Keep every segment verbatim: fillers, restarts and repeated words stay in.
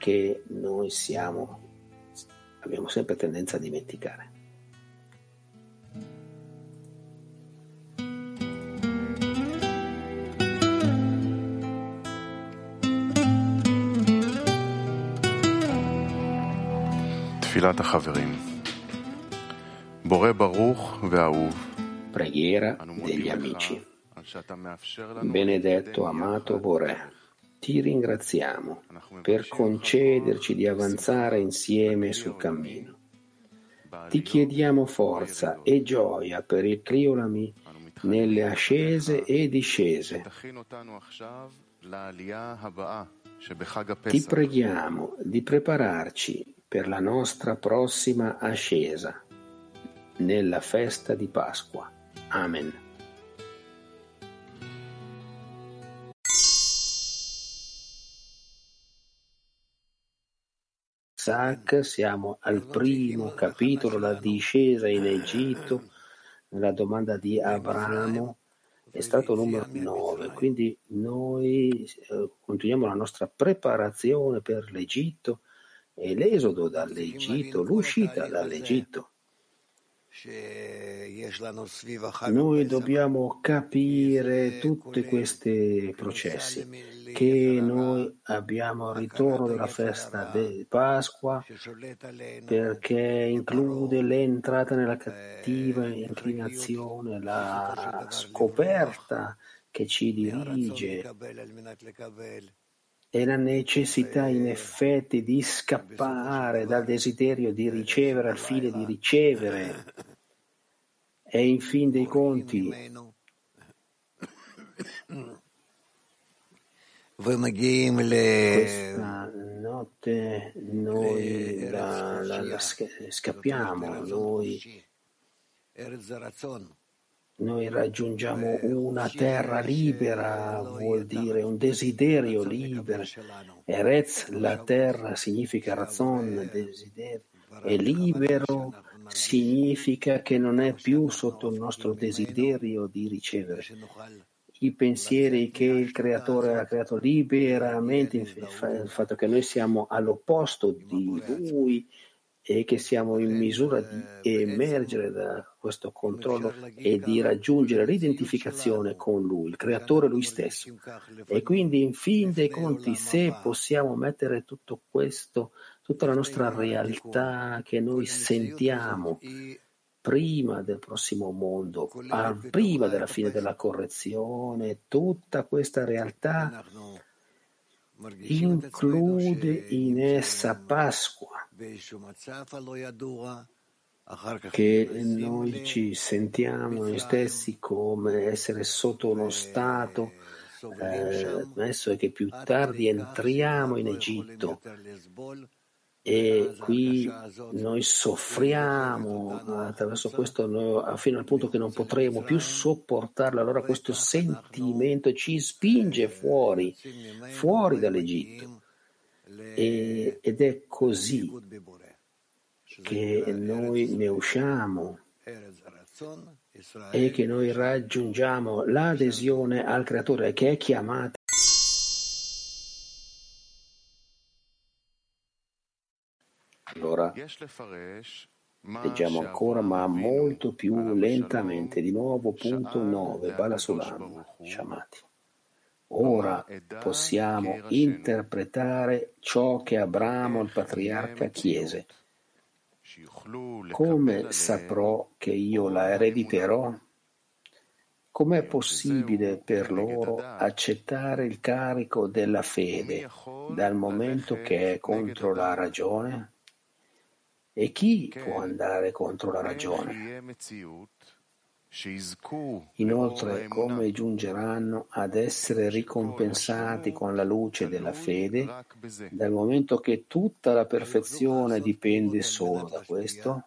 che noi siamo, abbiamo sempre tendenza a dimenticare. תפילת החברים. בורא ברוך ואהוב. Preghiera degli amici. Benedetto, amato Boré, ti ringraziamo per concederci di avanzare insieme sul cammino. Ti chiediamo forza e gioia per il Kriolami nelle ascese e discese. Ti preghiamo di prepararci per la nostra prossima ascesa nella festa di Pasqua. Amen. Isaac, siamo al primo capitolo, la discesa in Egitto, nella domanda di Abramo, è stato numero nove, quindi noi eh, continuiamo la nostra preparazione per l'Egitto e l'esodo dall'Egitto, l'uscita dall'Egitto. Noi dobbiamo capire tutti questi processi, che noi abbiamo il ritorno della festa di Pasqua, perché include l'entrata nella cattiva inclinazione, la scoperta che ci dirige e la necessità in effetti di scappare dal desiderio di ricevere al fine di ricevere. E in fin dei conti questa notte noi la, la, la scappiamo, noi, noi raggiungiamo una terra libera, vuol dire un desiderio libero. Eretz, la terra, significa razon, desiderio, è libero. Significa che non è più sotto il nostro desiderio di ricevere i pensieri che il Creatore ha creato liberamente, il fatto che noi siamo all'opposto di Lui e che siamo in misura di emergere da questo controllo e di raggiungere l'identificazione con Lui, il Creatore Lui stesso. E quindi in fin dei conti, se possiamo mettere tutto questo, tutta la nostra realtà che noi sentiamo prima del prossimo mondo, prima della fine della correzione, tutta questa realtà include in essa Pasqua, che noi ci sentiamo noi stessi come essere sotto uno stato eh, messo e che più tardi entriamo in Egitto e qui noi soffriamo attraverso questo noi, fino al punto che non potremo più sopportarlo. Allora questo sentimento ci spinge fuori fuori dall'Egitto e, ed è così che noi ne usciamo e che noi raggiungiamo l'adesione al Creatore, che è chiamata. Allora leggiamo ancora, ma molto più lentamente. Di nuovo, punto nove, Bala Sulam, Shamati. Ora possiamo interpretare ciò che Abramo, il patriarca, chiese. Come saprò che io la erediterò? Com'è possibile per loro accettare il carico della fede dal momento che è contro la ragione? E chi può andare contro la ragione? Inoltre, come giungeranno ad essere ricompensati con la luce della fede, dal momento che tutta la perfezione dipende solo da questo?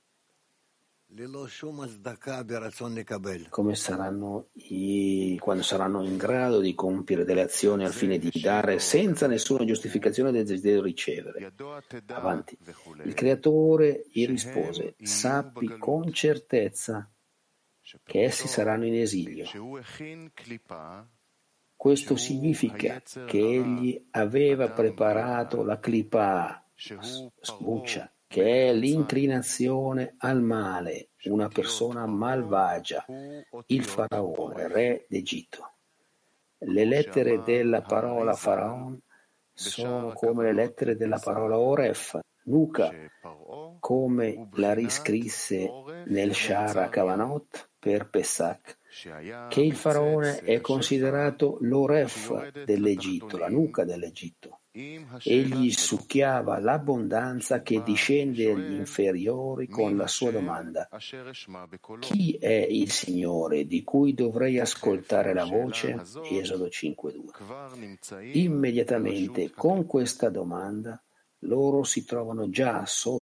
Come saranno i, quando saranno in grado di compiere delle azioni al fine di dare senza nessuna giustificazione del desiderio di ricevere. Avanti. Il Creatore gli rispose: sappi con certezza che essi saranno in esilio Questo significa che egli aveva preparato la clipà, sbuccia, che è l'inclinazione al male, una persona malvagia, il faraone, re d'Egitto. Le lettere della parola faraon sono come le lettere della parola oref, nuca, come la riscrisse nel Shara Kavanot per Pesach, che il faraone è considerato l'oref dell'Egitto, la nuca dell'Egitto. Egli succhiava l'abbondanza che discende agli inferiori con la sua domanda: chi è il Signore di cui dovrei ascoltare la voce? Esodo cinque due. Immediatamente con questa domanda loro si trovano già sotto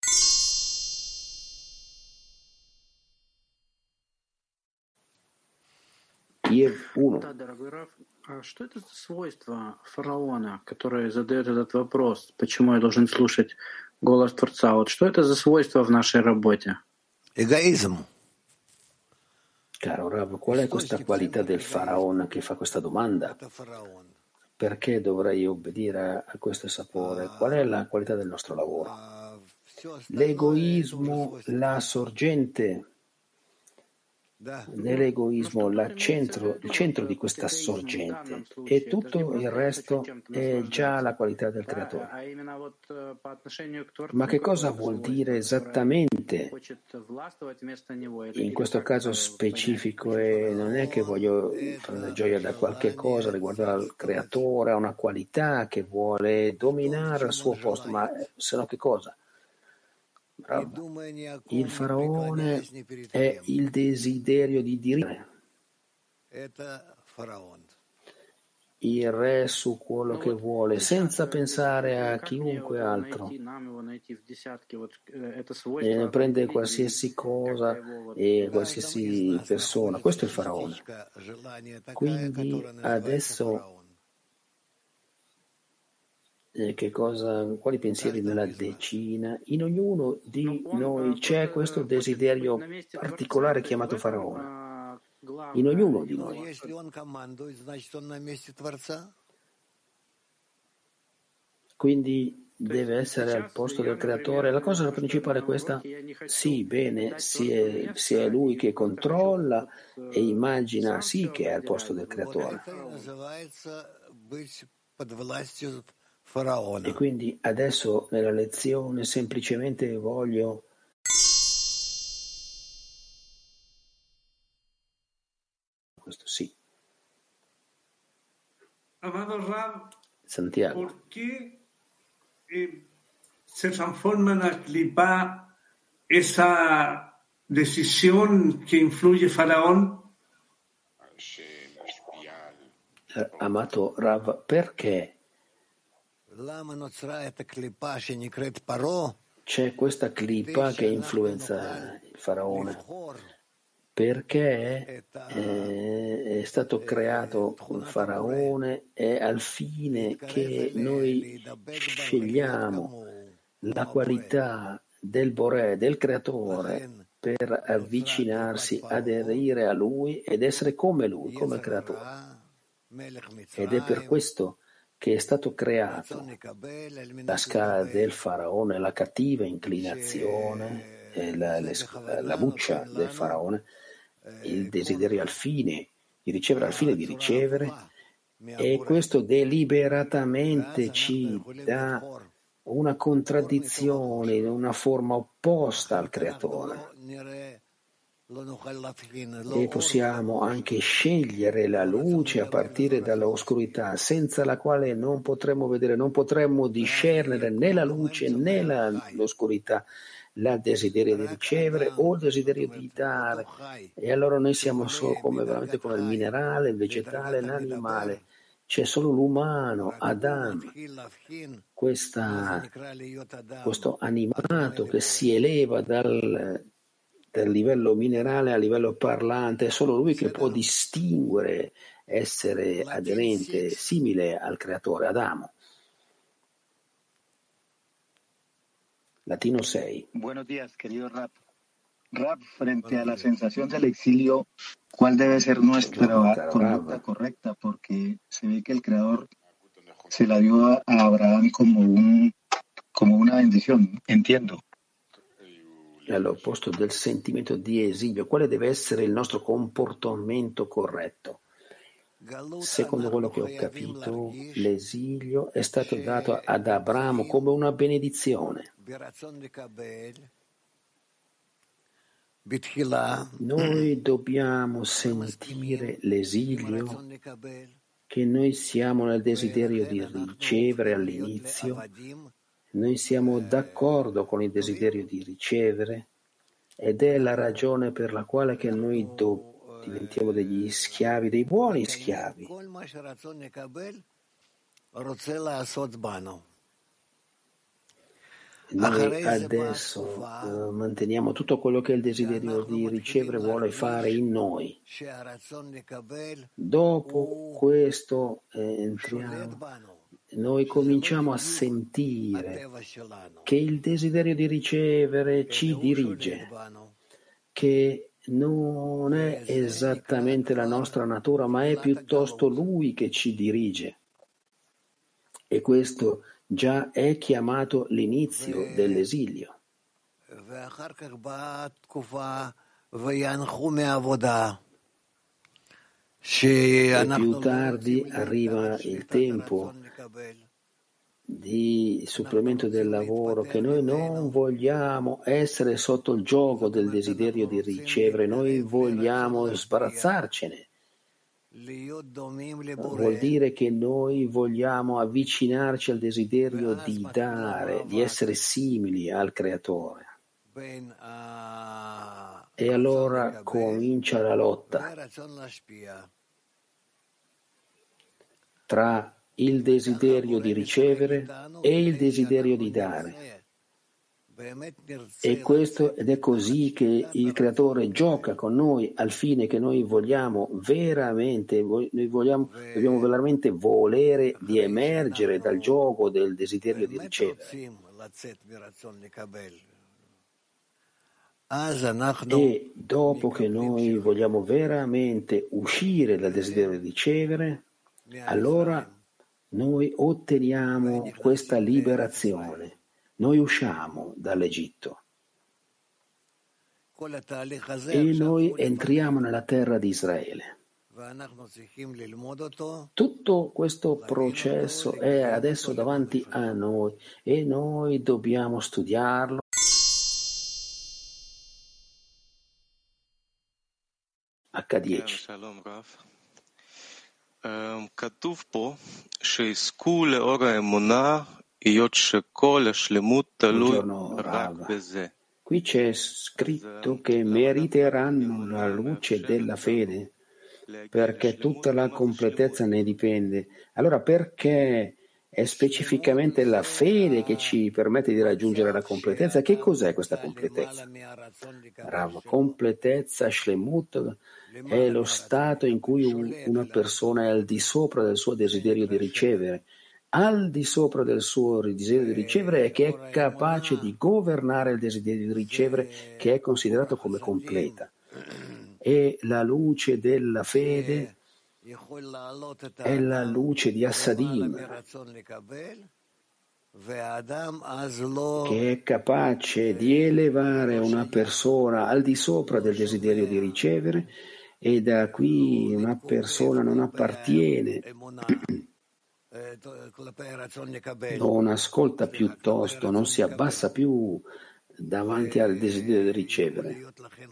uno. Да, дорогой Раф, а что это за свойство фараона, который задает этот вопрос, почему я должен слушать голос Творца? Вот что это за свойство в нашей работе? Egoismo. Caro Rav, qual è questa qualità del faraone che fa questa domanda? Perché dovrei obbedire a questo sapore? Qual è la qualità del nostro lavoro? L'egoismo, la sorgente nell'egoismo, la centro, il centro di questa sorgente, e tutto il resto è già la qualità del creatore. Ma che cosa vuol dire esattamente in questo caso specifico? E non è che voglio prendere gioia da qualche cosa riguardo al creatore, a una qualità che vuole dominare al suo posto, ma se no che cosa? Bravo. Il faraone è il desiderio di dire. Il re su quello che vuole, senza pensare a chiunque altro. E prende qualsiasi cosa e qualsiasi persona. Questo è il faraone. Quindi adesso che cosa, quali pensieri nella decina? In ognuno di noi c'è questo desiderio particolare chiamato faraone. In ognuno di noi. Quindi deve essere al posto del creatore. La cosa principale è questa: sì, bene, se è, se è lui che controlla e immagina, sì, che è al posto del creatore. E quindi adesso nella lezione semplicemente voglio questo sì. Santiago. Perché eh, se transforma en la clipa esa decisión que influye Faraón? Eh, amato Rav, perché c'è questa clipa che influenza il faraone? Perché eh, è stato creato il faraone è al fine che noi scegliamo la qualità del Boré, del creatore, per avvicinarsi, aderire a lui ed essere come lui, come il creatore. Ed è per questo che è stato creato la scala del faraone, la cattiva inclinazione, la, la, la buccia del faraone, il desiderio al fine di ricevere, al fine di ricevere, e questo deliberatamente ci dà una contraddizione, una forma opposta al creatore. E possiamo anche scegliere la luce a partire dall'oscurità, senza la quale non potremmo vedere, non potremmo discernere né la luce né la, l'oscurità, il desiderio di ricevere o il desiderio di dare. E allora noi siamo solo come, veramente come il minerale, il vegetale, l'animale. C'è solo l'umano, Adam, questa, questo animato che si eleva dal dal livello minerale a livello parlante. È solo lui che può distinguere, essere aderente, simile al creatore, Adamo. Latino sei. Buenos días, querido Rap. Rab, frente a la sensación del exilio, ¿cuál debe ser Buongiorno nuestra caro conducta Rav. correcta? Porque se ve que el Creador se la dio a, a Abraham como un, como una bendición, entiendo. All'opposto del sentimento di esilio, quale deve essere il nostro comportamento corretto? Secondo quello che ho capito, l'esilio è stato dato ad Abramo come una benedizione. Noi dobbiamo sentire l'esilio, che noi siamo nel desiderio di ricevere all'inizio, noi siamo d'accordo con il desiderio di ricevere ed è la ragione per la quale che noi do- diventiamo degli schiavi, dei buoni schiavi. Noi adesso eh, manteniamo tutto quello che il desiderio di ricevere vuole fare in noi. Dopo questo eh, entriamo, noi cominciamo a sentire che il desiderio di ricevere ci dirige, che non è esattamente la nostra natura, ma è piuttosto Lui che ci dirige. E questo già è chiamato l'inizio dell'esilio. E più tardi arriva il tempo di supplemento del lavoro, che noi non vogliamo essere sotto il gioco del desiderio di ricevere, noi vogliamo sbarazzarcene. Vuol dire che noi vogliamo avvicinarci al desiderio di dare, di essere simili al Creatore. E allora comincia la lotta tra il desiderio di ricevere e il desiderio di dare. E questo, ed è così che il Creatore gioca con noi al fine che noi vogliamo veramente, noi vogliamo, dobbiamo veramente volere di emergere dal gioco del desiderio di ricevere. E dopo che noi vogliamo veramente uscire dal desiderio di ricevere, allora noi otteniamo questa liberazione. Noi usciamo dall'Egitto e noi entriamo nella terra di Israele. Tutto questo processo è adesso davanti a noi e noi dobbiamo studiarlo. acca dieci. כתוב פה שיזכו לאור האמונה היות שכל השלמות תלוי רק בזה. Qui c'è scritto che meriteranno la luce della fede perché tutta la completezza ne dipende. Allora perché è specificamente la fede che ci permette di raggiungere la completezza? Che cos'è questa completezza? Rav, completezza, shlemut, è lo stato in cui una persona è al di sopra del suo desiderio di ricevere, al di sopra del suo desiderio di ricevere e che è capace di governare il desiderio di ricevere, che è considerato come completa. E la luce della fede è la luce di Assadim, che è capace di elevare una persona al di sopra del desiderio di ricevere, e da qui una persona non appartiene, non ascolta piuttosto, non si abbassa più davanti al desiderio di ricevere.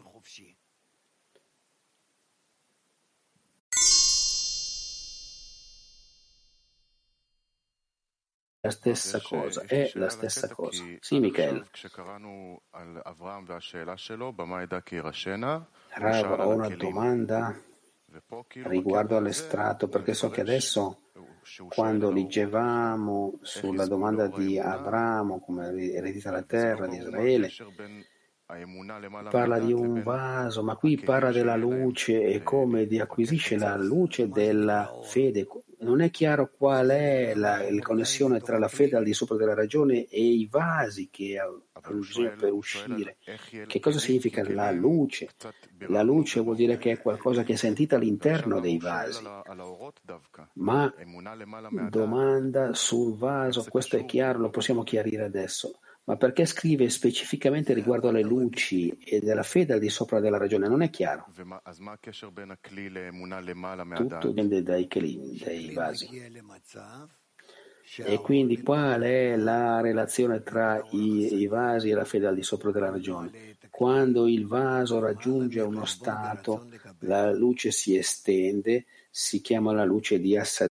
La stessa cosa, è la stessa cosa. Sì, Michele. Rav, ho una domanda riguardo all'estratto, perché so che adesso, quando leggevamo sulla domanda di Abramo come eredita la terra di Israele, parla di un vaso, ma qui parla della luce e come di acquisisce la luce della fede. non è chiaro qual è la, la connessione tra la fede al di sopra della ragione e i vasi che hanno bisogno per uscire. Che cosa significa la luce? La luce vuol dire che è qualcosa che è sentita all'interno dei vasi. Ma domanda sul vaso, questo è chiaro, lo possiamo chiarire adesso. Ma perché scrive specificamente riguardo alle luci e della fede al di sopra della ragione? Non è chiaro. Tutto dipende dai kelim, dai vasi. E quindi qual è la relazione tra i, i vasi e la fede al di sopra della ragione? Quando il vaso raggiunge uno stato, la luce si estende, si chiama la luce di Asad.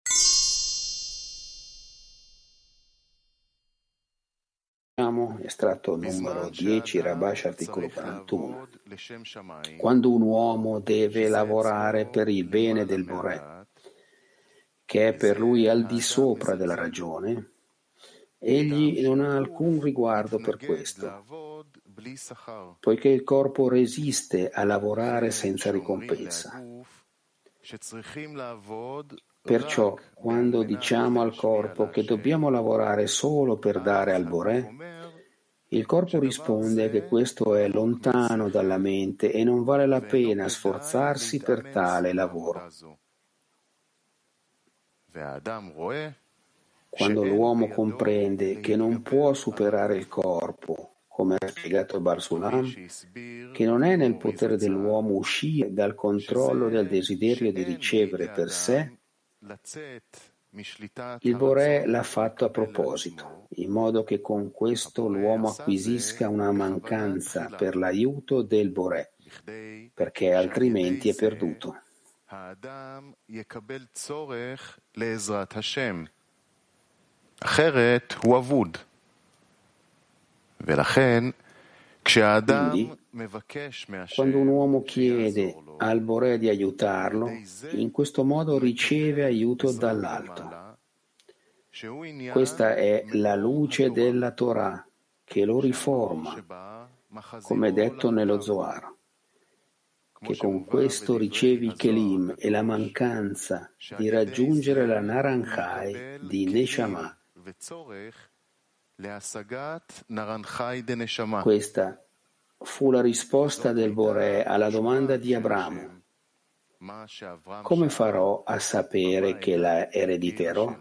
Estratto numero dieci, Rabash, articolo quarantuno. Quando un uomo deve lavorare per il bene del Boré, che è per lui al di sopra della ragione, egli non ha alcun riguardo per questo, poiché il corpo resiste a lavorare senza ricompensa. Perciò, quando diciamo al corpo che dobbiamo lavorare solo per dare al Boré, il corpo risponde che questo è lontano dalla mente e non vale la pena sforzarsi per tale lavoro. Quando l'uomo comprende che non può superare il corpo, come ha spiegato Barsulam, che non è nel potere dell'uomo uscire dal controllo del desiderio di ricevere per sé, il Boré l'ha fatto a proposito, in modo che con questo l'uomo acquisisca una mancanza per l'aiuto del Boré, perché altrimenti è perduto. Quindi, quando un uomo chiede al Boré di aiutarlo, in questo modo riceve aiuto dall'alto. Questa è la luce della Torah che lo riforma, come detto nello Zohar, che con questo ricevi i kelim e la mancanza di raggiungere la Naranjai di Neshama. Questa fu la risposta del Boré alla domanda di Abramo: come farò a sapere che la erediterò?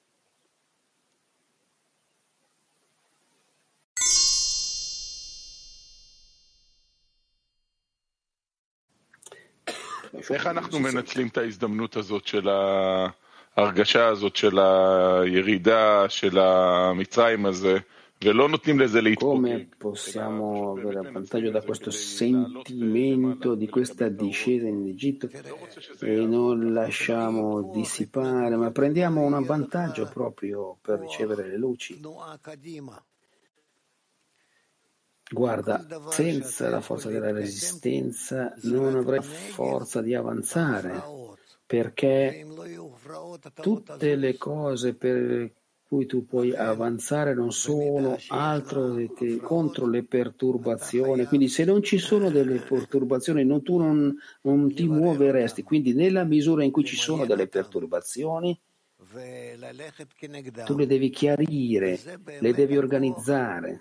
איך אנחנו מנצלים את ההזדמנות הזאת של ההרגשה הזאת של הירידה של המצרים הזה ולא נותנים לזה להתפוגג? Come possiamo avere vantaggio da questo sentimento di questa discesa in Egitto e non lasciamo dissipare, ma prendiamo un vantaggio proprio per ricevere le luci? Guarda, senza la forza della resistenza non avrei forza di avanzare, perché tutte le cose per cui tu puoi avanzare non sono altro che contro le perturbazioni. Quindi se non ci sono delle perturbazioni, non, tu non, non ti muoveresti. Quindi nella misura in cui ci sono delle perturbazioni, tu le devi chiarire, le devi organizzare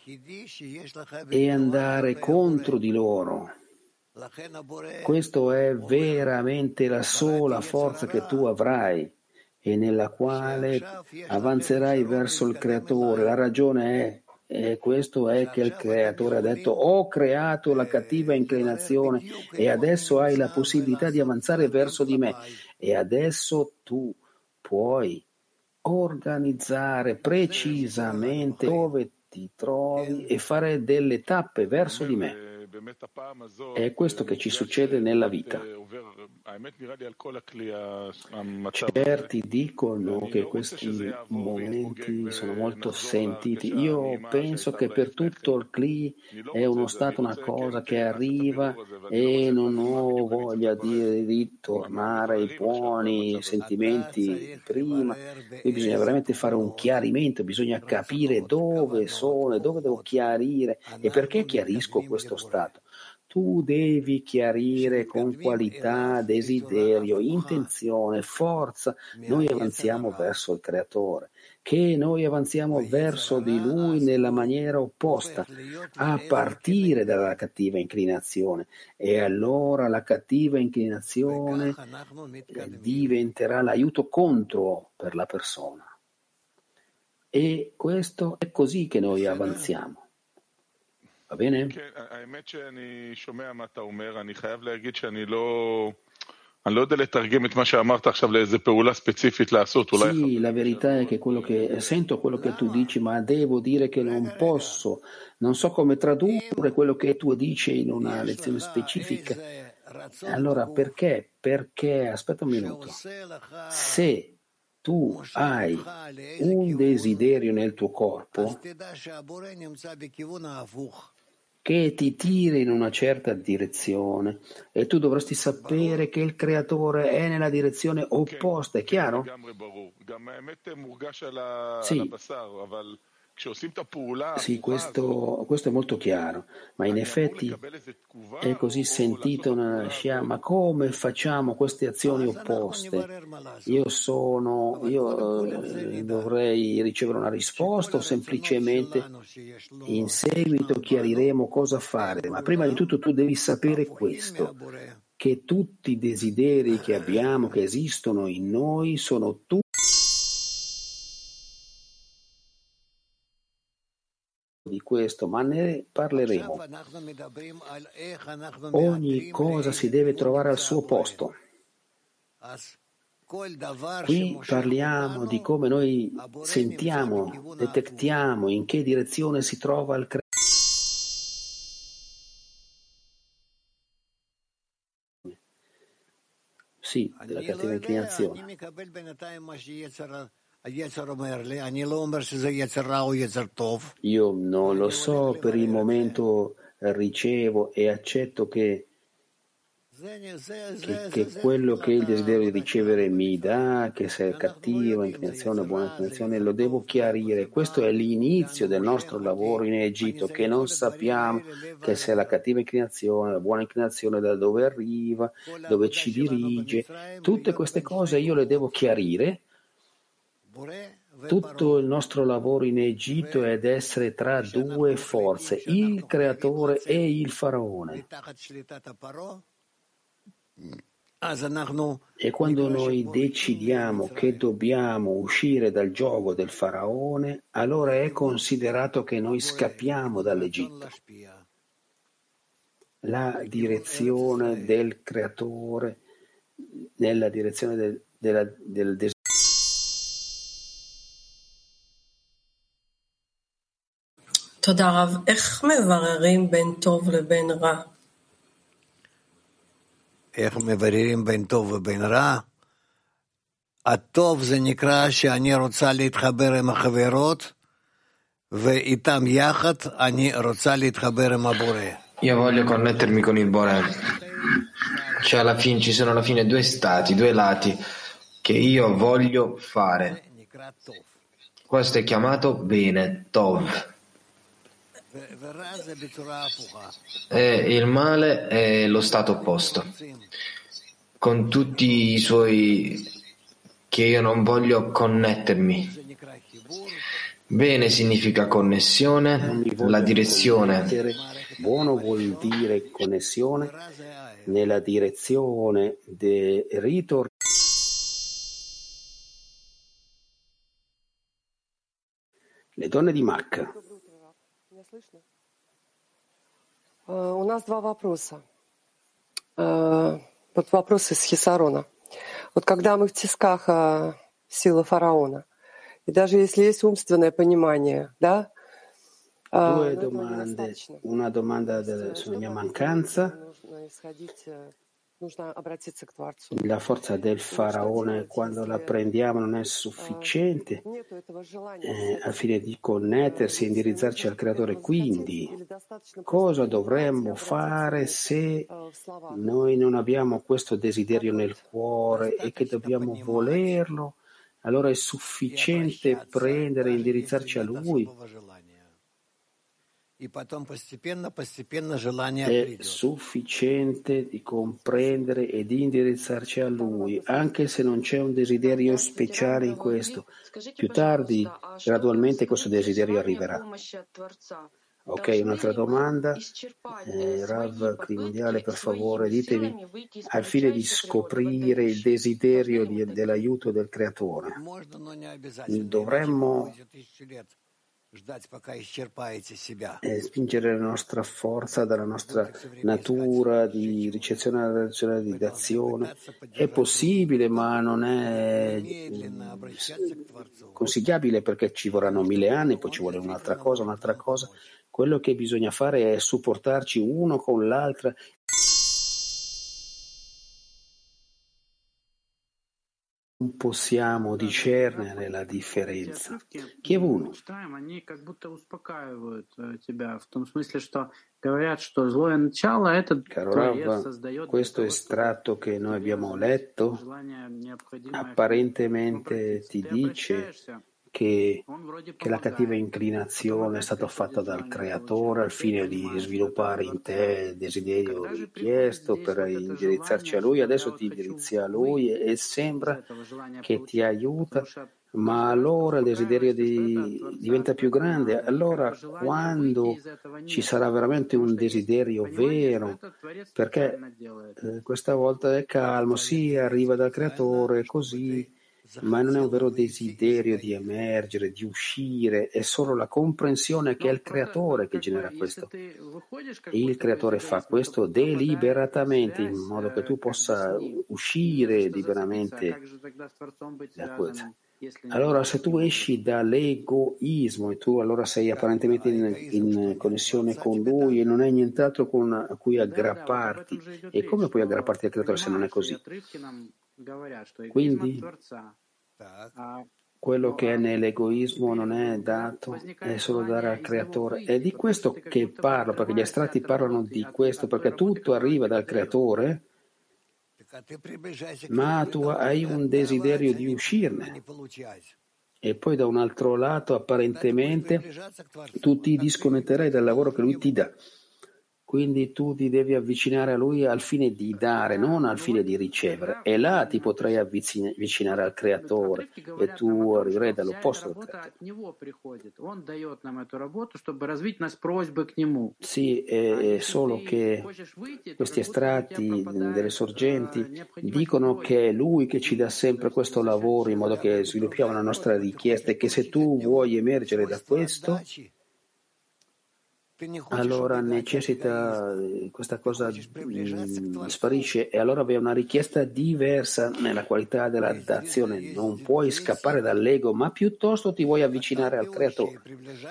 e andare contro di loro. Questo è veramente la sola forza che tu avrai e nella quale avanzerai verso il Creatore. La ragione è, e questo è che il Creatore ha detto: ho creato la cattiva inclinazione e adesso hai la possibilità di avanzare verso di me, e adesso tu puoi organizzare precisamente dove ti trovi e fare delle tappe verso di me. È questo che ci succede nella vita. Certi dicono che questi momenti sono molto sentiti. Io penso che per tutto il Kli è uno stato, una cosa che arriva, e non ho voglia di, di tornare ai buoni sentimenti prima. Qui bisogna veramente fare un chiarimento, bisogna capire dove sono e dove devo chiarire e perché chiarisco questo stato. tu devi chiarire con qualità, desiderio, intenzione, forza. Noi avanziamo verso il Creatore, che noi avanziamo verso di Lui nella maniera opposta, a partire dalla cattiva inclinazione. E allora la cattiva inclinazione diventerà l'aiuto contro per la persona. E questo è così che noi avanziamo. Va bene? האמת שאני שומע מה אתה אומר, אני חייב להגיד שאני לא... אני לא יודע לתרגם את מה שאמרת עכשיו לאיזה פעולה ספציפית לעשות. Sì, la verità è che quello che sento quello che tu dici, ma devo dire che non posso, non so come tradurre quello che tu dici in una lezione specifica. Allora, perché? Perché, aspetta un minuto, se tu hai un desiderio nel tuo corpo che ti tira in una certa direzione e tu dovresti sapere che il Creatore è nella direzione opposta, è chiaro? Sì. Sì, questo, questo è molto chiaro, ma in effetti è così sentito una Shia, ma come facciamo queste azioni opposte? Io sono, io eh, dovrei ricevere una risposta o semplicemente in seguito chiariremo cosa fare? Ma prima di tutto tu devi sapere questo, che tutti i desideri che abbiamo, che esistono in noi, sono tutti di questo, ma ne parleremo. Ogni cosa si deve trovare al suo posto. Qui parliamo di come noi sentiamo, detectiamo in che direzione si trova il creatore. Sì, della cattiva inclinazione. Io non lo so, per il momento ricevo e accetto che, che, che quello che il desiderio di ricevere mi dà, che se è cattiva inclinazione o buona inclinazione, lo devo chiarire. Questo è l'inizio del nostro lavoro in Egitto, che non sappiamo che se è la cattiva inclinazione, la buona inclinazione, da dove arriva, dove ci dirige. Tutte queste cose io le devo chiarire. Tutto il nostro lavoro in Egitto è ad essere tra due forze, il creatore e il faraone. E quando noi decidiamo che dobbiamo uscire dal gioco del faraone, allora è considerato che noi scappiamo dall'Egitto. La direzione del creatore nella direzione del, della, del desiderio. תודה רב. איך מבררים בין טוב לבין רע? איך מבררים בין טוב ובין רע? הטוב זה נקרא שאני רוצה להתחבר עם החברות ואיתם יחד אני רוצה להתחבר עם הבורא. Io voglio connettermi con il Boré. Cioè alla fine ci sono alla fine due stati, due lati che io voglio fare. Questo è chiamato bene, Tov. E il male è lo stato opposto, con tutti i suoi che io non voglio connettermi. Bene significa connessione, la direzione. Buono vuol dire connessione nella direzione del ritorno. Le donne di Macca. У нас два вопроса. Вот вопрос из Хисарона. Вот когда мы в тисках силы фараона, и даже если есть умственное понимание, да, Due domande, una domanda sulla mia mancanza, la forza del faraone quando la prendiamo non è sufficiente eh, al fine di connettersi e indirizzarci al creatore. Quindi cosa dovremmo fare se noi non abbiamo questo desiderio nel cuore e che dobbiamo volerlo? Allora è sufficiente prendere e indirizzarci a lui. è sufficiente di comprendere e di indirizzarci a Lui, anche se non c'è un desiderio speciale in questo. Più tardi, gradualmente, questo desiderio arriverà. Ok, un'altra domanda. Eh, Rav Crimondiale, per favore, ditemi, al fine di scoprire il desiderio di, dell'aiuto del Creatore, dovremmo eh, spingere la nostra forza dalla nostra natura di ricezione alla relazione di d'azione. È possibile, ma non è mm, consigliabile, perché ci vorranno mille anni, poi ci vuole un'altra cosa, un'altra cosa. Quello che bisogna fare è supportarci uno con l'altra. Non possiamo discernere la differenza. Chi è uno? Caro Rav, questo estratto che noi abbiamo letto apparentemente ti dice che, che la cattiva inclinazione è stata fatta dal Creatore al fine di sviluppare in te il desiderio richiesto per indirizzarci a Lui. Adesso ti indirizzi a Lui e, e sembra che ti aiuta, ma allora il desiderio di, diventa più grande. Allora, quando ci sarà veramente un desiderio vero, perché eh, questa volta è calmo, sì, arriva dal Creatore, così, ma non è un vero desiderio di emergere, di uscire, è solo la comprensione che è il Creatore che genera questo. E il Creatore fa questo deliberatamente, in modo che tu possa uscire liberamente da questo. Allora, se tu esci dall'egoismo e tu allora sei apparentemente in, in connessione con Lui e non hai nient'altro con, a cui aggrapparti, e come puoi aggrapparti al Creatore se non è così? Quindi quello che è nell'egoismo non è dato, è solo dare al Creatore. È di questo che parlo, perché gli estratti parlano di questo, perché tutto arriva dal Creatore, ma tu hai un desiderio di uscirne. E poi da un altro lato, apparentemente, tu ti disconnetterai dal lavoro che Lui ti dà. Quindi tu ti devi avvicinare a Lui al fine di dare, non al fine di ricevere. E là ti potrai avvicinare al Creatore e tu arriverai dall'opposto del Creatore. Sì, è solo che questi estratti delle sorgenti dicono che è Lui che ci dà sempre questo lavoro in modo che sviluppiamo la nostra richiesta, e che se tu vuoi emergere da questo, allora necessita questa cosa mh, sparisce, e allora vi è una richiesta diversa nella qualità della dazione. Non puoi scappare dall'ego, ma piuttosto ti vuoi avvicinare al Creatore.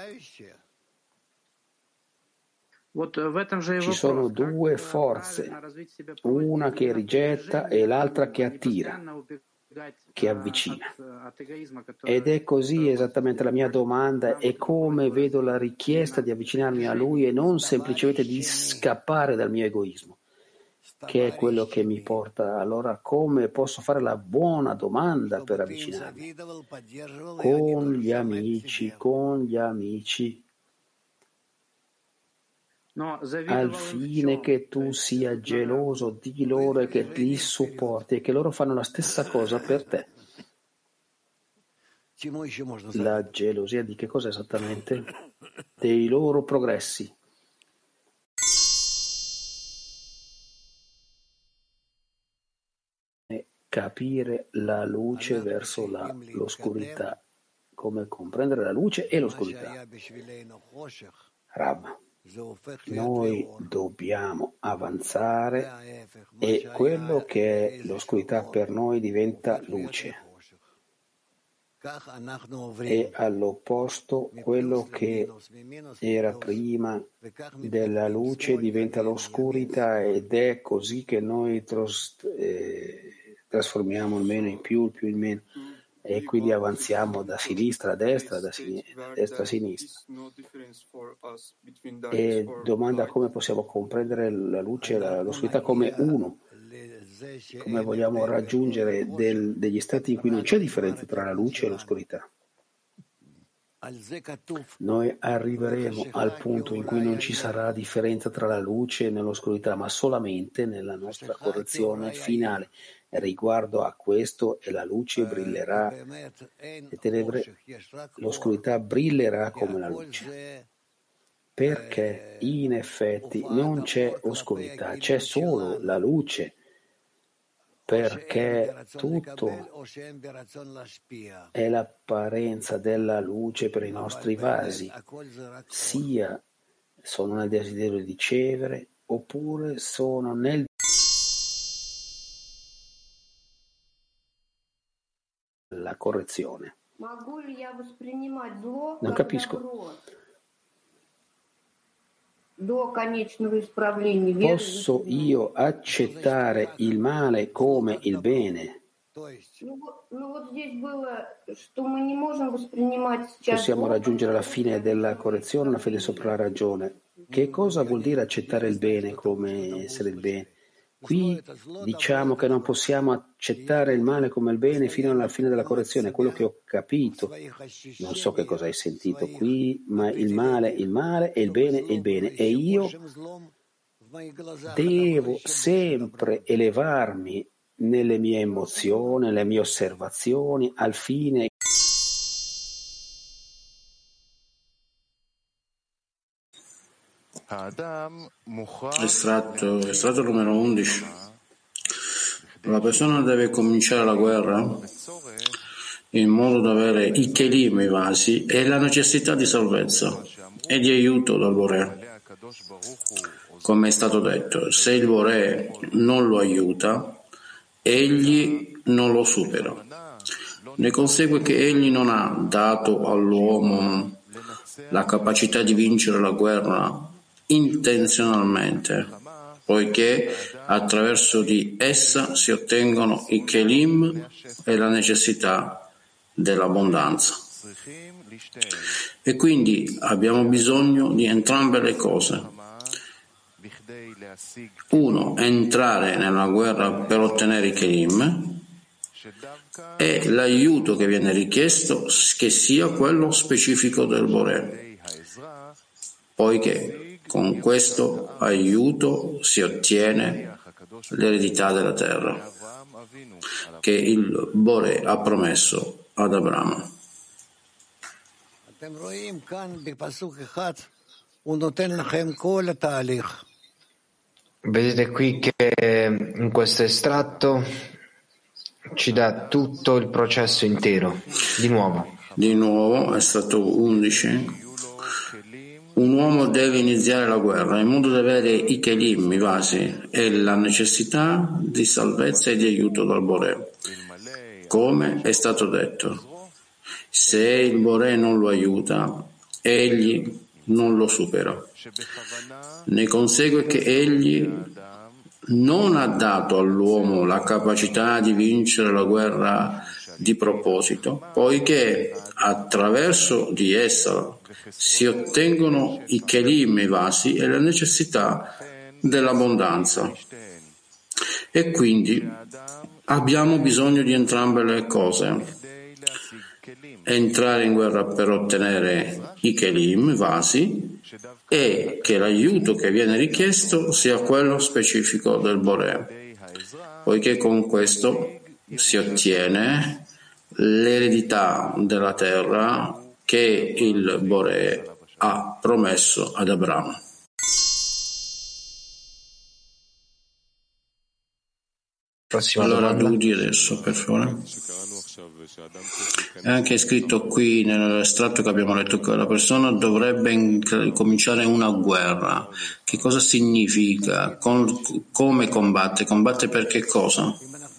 Ci sono due forze, una che rigetta e l'altra che attira, che avvicina. Ed è così esattamente la mia domanda, è come vedo la richiesta di avvicinarmi a Lui e non semplicemente di scappare dal mio egoismo, che è quello che mi porta. Allora come posso fare la buona domanda per avvicinarmi? Con gli amici, con gli amici, al fine che tu sia geloso di loro e che li supporti e che loro fanno la stessa cosa per te. La gelosia di che cosa esattamente? Dei loro progressi. E capire la luce verso la, l'oscurità, come comprendere la luce e l'oscurità. Rav, noi dobbiamo avanzare e quello che è l'oscurità per noi diventa luce. E all'opposto, quello che era prima della luce diventa l'oscurità, ed è così che noi tros, eh, trasformiamo il meno in più, il più in meno, e quindi avanziamo da sinistra a destra, da sinistra, destra a sinistra. E domanda come possiamo comprendere la luce e l'oscurità come uno. Come vogliamo raggiungere del, degli stati in cui non c'è differenza tra la luce e l'oscurità? noi arriveremo al punto in cui non ci sarà differenza tra la luce e l'oscurità, ma solamente nella nostra correzione finale. Riguardo a questo, e la luce brillerà, le tenebre, l'oscurità brillerà come la luce. Perché in effetti non c'è oscurità, c'è solo la luce. Perché tutto è l'apparenza della luce per i nostri vasi, sia sono nel desiderio di ricevere oppure sono nel la correzione. Non capisco. Posso io accettare il male come il bene? Possiamo raggiungere la fine della correzione, la fede sopra la ragione. Che cosa vuol dire accettare il bene come essere il bene? Qui diciamo che non possiamo accettare il male come il bene fino alla fine della correzione, è quello che ho capito. Non so che cosa hai sentito qui, ma il male è il male e il bene è il bene. E io devo sempre elevarmi nelle mie emozioni, nelle mie osservazioni, al fine Estratto, estratto numero undici. La persona deve cominciare la guerra in modo da avere i kelim, i vasi, e la necessità di salvezza e di aiuto dal Boré. Come è stato detto, se il Boré non lo aiuta, egli non lo supera. Ne consegue che egli non ha dato all'uomo la capacità di vincere la guerra intenzionalmente, poiché attraverso di essa si ottengono i kelim e la necessità dell'abbondanza. E quindi abbiamo bisogno di entrambe le cose. Uno, entrare nella guerra per ottenere i kelim, e l'aiuto che viene richiesto che sia quello specifico del Boré, poiché con questo aiuto si ottiene l'eredità della terra che il Boré ha promesso ad Abramo. Vedete qui che in questo estratto ci dà tutto il processo intero. Di nuovo. Di nuovo, estratto undici. Un uomo deve iniziare la guerra in modo da avere i kelim, i vasi, e la necessità di salvezza e di aiuto dal Boré. Come è stato detto, se il Boré non lo aiuta, egli non lo supera. Ne consegue che egli non ha dato all'uomo la capacità di vincere la guerra di proposito, poiché attraverso di essa si ottengono i kelim, i vasi, e la necessità dell'abbondanza. E quindi abbiamo bisogno di entrambe le cose. Entrare in guerra per ottenere i kelim, i vasi, e che l'aiuto che viene richiesto sia quello specifico del Boré, poiché con questo si ottiene l'eredità della terra che il Boré ha promesso ad Abramo. Prossima allora domanda. Dudi adesso, per favore. È anche scritto qui nell'estratto che abbiamo letto che la persona dovrebbe in- cominciare una guerra. Che cosa significa? Con- come combatte? Combatte per che cosa?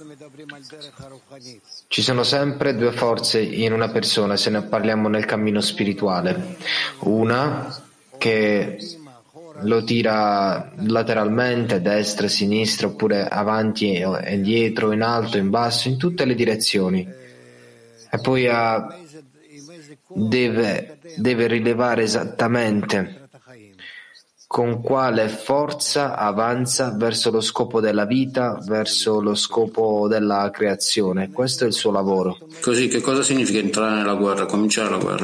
Ci sono sempre due forze in una persona, se ne parliamo nel cammino spirituale. Una che lo tira lateralmente, destra, sinistra, oppure avanti e dietro, in alto, in basso, in tutte le direzioni. E poi ha, deve, deve rilevare esattamente con quale forza avanza verso lo scopo della vita, verso lo scopo della creazione. Questo è il suo lavoro. Così, che cosa significa entrare nella guerra, cominciare la guerra?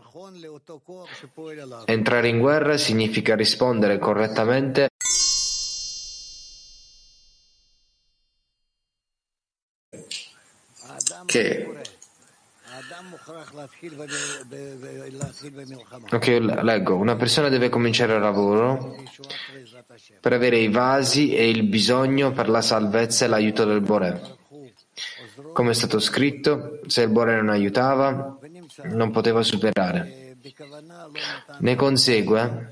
Entrare in guerra significa rispondere correttamente che Ok, leggo. Una persona deve cominciare il lavoro per avere i vasi e il bisogno per la salvezza e l'aiuto del Boré. Come è stato scritto, se il Boré non aiutava, non poteva superare. Ne consegue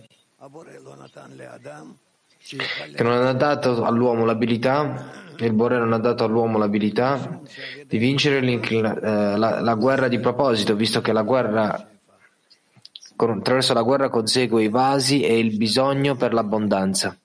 che non ha dato all'uomo l'abilità, il Boré non ha dato all'uomo l'abilità di vincere eh, la, la guerra di proposito, visto che la guerra, con, attraverso la guerra consegue i vasi e il bisogno per l'abbondanza.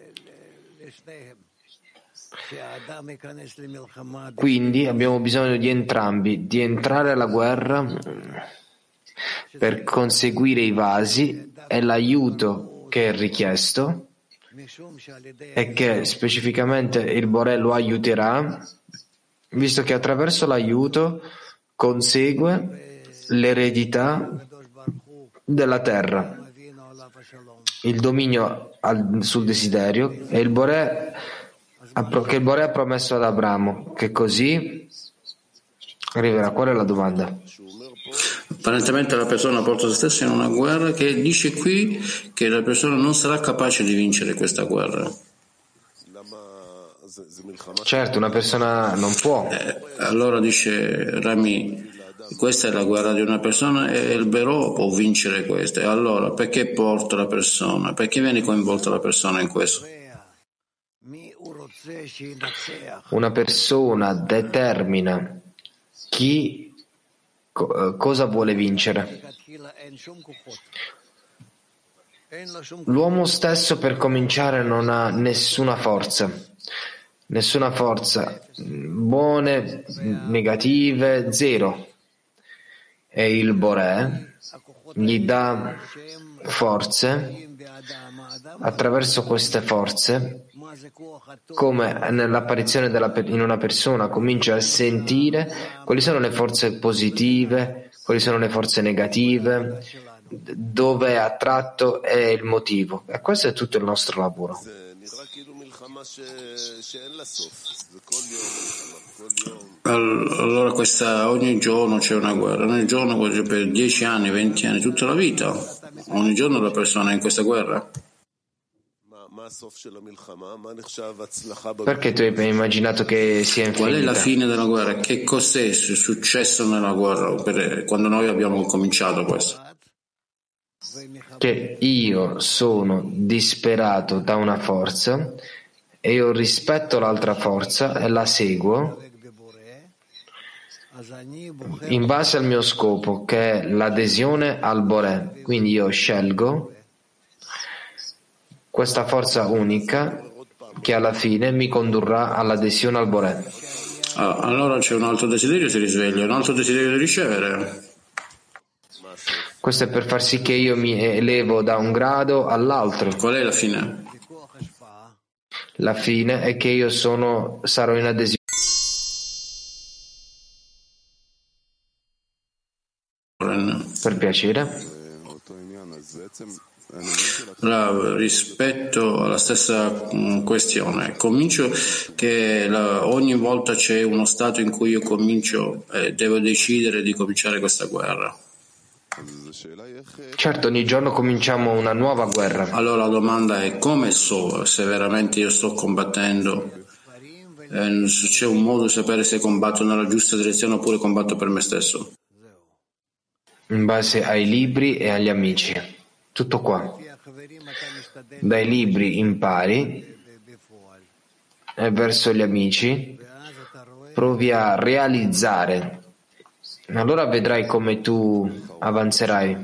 Quindi abbiamo bisogno di entrambi, di entrare alla guerra per conseguire i vasi e l'aiuto che è richiesto, e che specificamente il Boré lo aiuterà, visto che attraverso l'aiuto consegue l'eredità della terra, il dominio al, sul desiderio, e il Boré, che il Boré ha promesso ad Abramo, che così arriverà. Qual è la domanda? Apparentemente la persona porta se stessa in una guerra che dice qui che la persona non sarà capace di vincere questa guerra. Certo, una persona non può. Eh, allora dice Rami, questa è la guerra di una persona e il Berò può vincere questa. E allora perché porta la persona? Perché viene coinvolta la persona in questo? Una persona determina chi cosa vuole vincere. L'uomo stesso per cominciare non ha nessuna forza, nessuna forza, buone, negative, zero. E il Boré gli dà forze, attraverso queste forze, come nell'apparizione della, in una persona, comincia a sentire quali sono le forze positive, quali sono le forze negative, dove è attratto e il motivo. E questo è tutto il nostro lavoro. Allora questa, ogni giorno c'è una guerra, ogni giorno per dieci anni, venti anni, tutta la vita, ogni giorno la persona è in questa guerra. Perché tu hai immaginato che sia infinita? Qual è la fine della guerra? Che cos'è successo nella guerra per, quando noi abbiamo cominciato questo? Che io sono disperato da una forza e io rispetto l'altra forza e la seguo in base al mio scopo, che è l'adesione al Boré. Quindi io scelgo questa forza unica che alla fine mi condurrà all'adesione al Boré. Ah, allora c'è un altro desiderio, si risveglia, un altro desiderio di ricevere. Questo è per far sì che io mi elevo da un grado all'altro. Qual è la fine? La fine è che io sono, sarò in adesione. Per piacere. Bravo, rispetto alla stessa mh, questione, comincio che la, ogni volta c'è uno stato in cui io comincio e eh, devo decidere di cominciare questa guerra. Certo, ogni giorno cominciamo una nuova guerra. Allora la domanda è: come so se veramente io sto combattendo? Eh, se c'è un modo di sapere se combatto nella giusta direzione oppure combatto per me stesso? In base ai libri e agli amici. Tutto qua. Dai libri impari e verso gli amici provi a realizzare. Allora vedrai come tu avanzerai.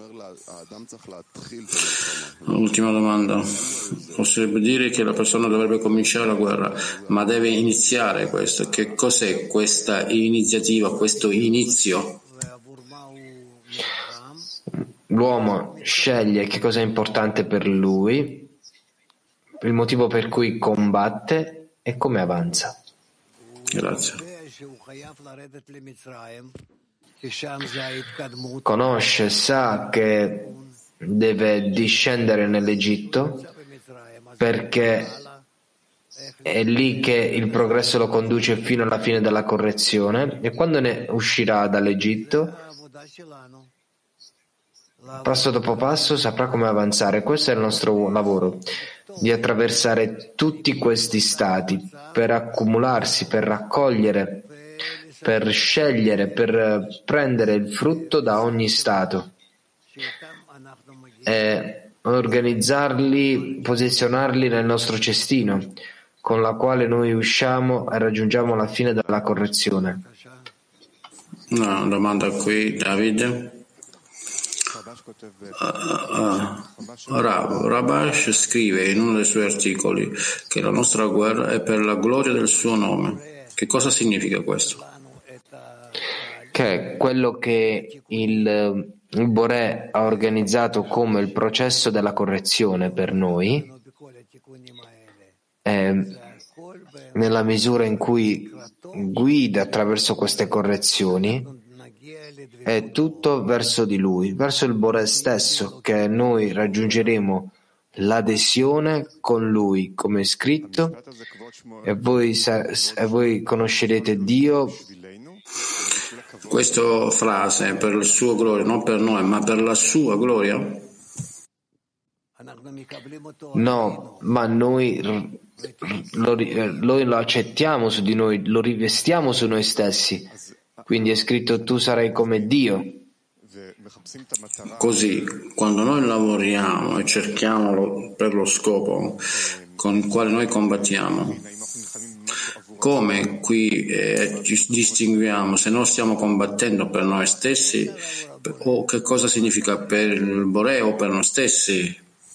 Ultima domanda. Possiamo dire che la persona dovrebbe cominciare la guerra, ma deve iniziare questo. Che cos'è questa iniziativa, questo inizio? l'uomo sceglie che cosa è importante per lui, il motivo per cui combatte e come avanza. Grazie. Conosce, sa che deve discendere nell'Egitto perché è lì che il progresso lo conduce fino alla fine della correzione, e quando ne uscirà dall'Egitto, passo dopo passo saprà come avanzare. Questo è il nostro lavoro, di attraversare tutti questi stati per accumularsi, per raccogliere, per scegliere, per prendere il frutto da ogni stato e organizzarli, posizionarli nel nostro cestino, con la quale noi usciamo e raggiungiamo la fine della correzione. Una domanda qui, David. Uh, uh, Rav, Rabash scrive in uno dei suoi articoli che la nostra guerra è per la gloria del suo nome. Che cosa significa questo? Che quello che il, il Boré ha organizzato come il processo della correzione per noi, è, nella misura in cui guida attraverso queste correzioni, è tutto verso di lui, verso il Boré stesso, che noi raggiungeremo l'adesione con lui, come è scritto, e voi, e voi conoscerete Dio. Questa frase è per il suo gloria, non per noi, ma per la sua gloria? No, ma noi lo, noi lo accettiamo su di noi, lo rivestiamo su noi stessi. Quindi è scritto: tu sarai come Dio. Così, quando noi lavoriamo e cerchiamo per lo scopo con il quale noi combattiamo, come qui eh, ci distinguiamo se non stiamo combattendo per noi stessi, o che cosa significa per il Boré o per noi stessi?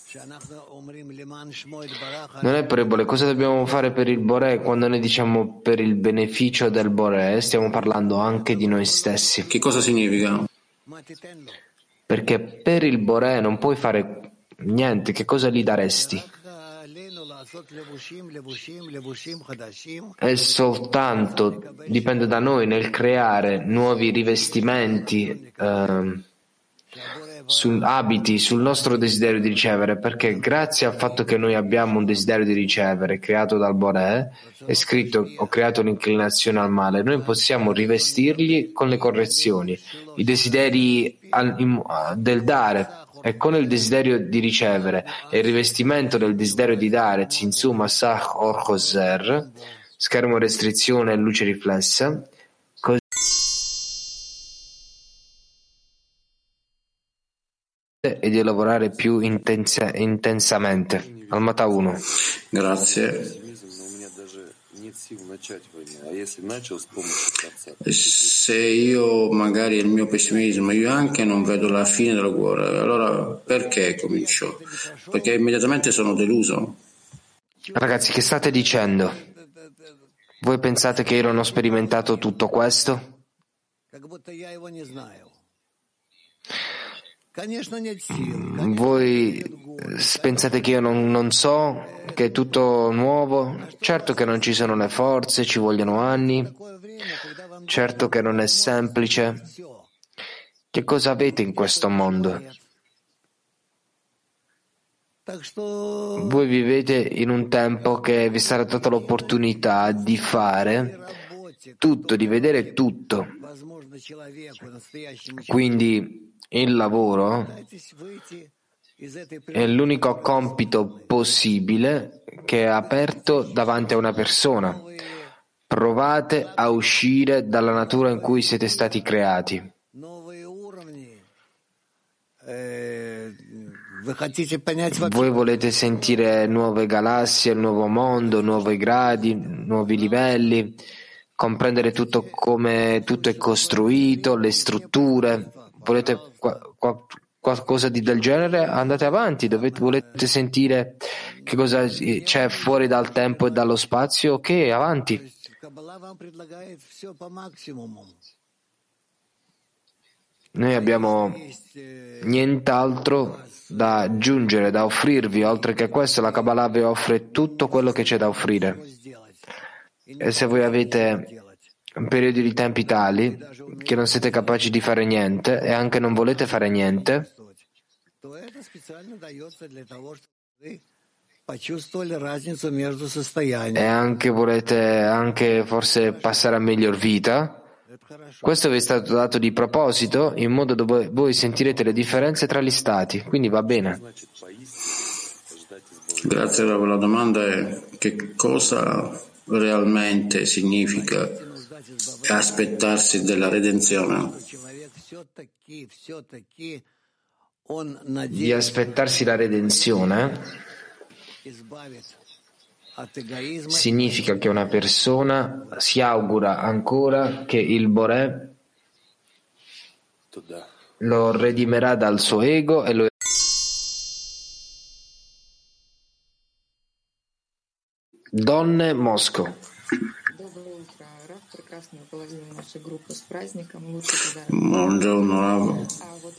Non è per il Boré. Cosa dobbiamo fare per il Boré? Quando noi diciamo per il beneficio del Boré, stiamo parlando anche di noi stessi. Che cosa significa? Perché per il Boré non puoi fare niente. Che cosa gli daresti? È soltanto, dipende da noi nel creare nuovi rivestimenti, eh, su abiti sul nostro desiderio di ricevere, perché grazie al fatto che noi abbiamo un desiderio di ricevere creato dal Boré, è scritto: ho creato un'inclinazione al male, noi possiamo rivestirli con le correzioni, i desideri al, in, del dare, e con il desiderio di ricevere e il rivestimento del desiderio di dare, Zinzu Masach Or Choser, schermo restrizione e luce riflessa, così e di lavorare più intensa, intensamente. Almata uno. Grazie. Se io magari il mio pessimismo, io anche non vedo la fine della guerra, allora perché comincio? Perché immediatamente sono deluso. Ragazzi, che state dicendo? Voi pensate che io non ho sperimentato tutto questo? Voi pensate che io non, non so, che è tutto nuovo? Certo che non ci sono le forze, ci vogliono anni, certo che non è semplice. Che cosa avete in questo mondo? Voi vivete in un tempo che vi sarà data l'opportunità di fare tutto, di vedere tutto. Quindi il lavoro è l'unico compito possibile che è aperto davanti a una persona. Provate a uscire dalla natura in cui siete stati creati. Voi volete sentire nuove galassie, nuovo mondo, nuovi gradi, nuovi livelli, comprendere tutto come tutto è costruito, le strutture. Volete qua, qua, qualcosa di del genere? Andate avanti. Dovete, volete sentire che cosa c'è fuori dal tempo e dallo spazio? Ok, avanti. Noi abbiamo nient'altro da aggiungere, da offrirvi. Oltre che questo, la Kabbalah vi offre tutto quello che c'è da offrire. E se voi avete periodi di tempi tali che non siete capaci di fare niente e anche non volete fare niente, e anche volete anche forse passare a miglior vita, questo vi è stato dato di proposito in modo dove voi sentirete le differenze tra gli stati, quindi va bene. Grazie. La domanda è: che cosa realmente significa aspettarsi della redenzione? Di aspettarsi la redenzione significa che una persona si augura ancora che il Boré lo redimerà dal suo ego e lo Donne Mosco. Buongiorno Rav.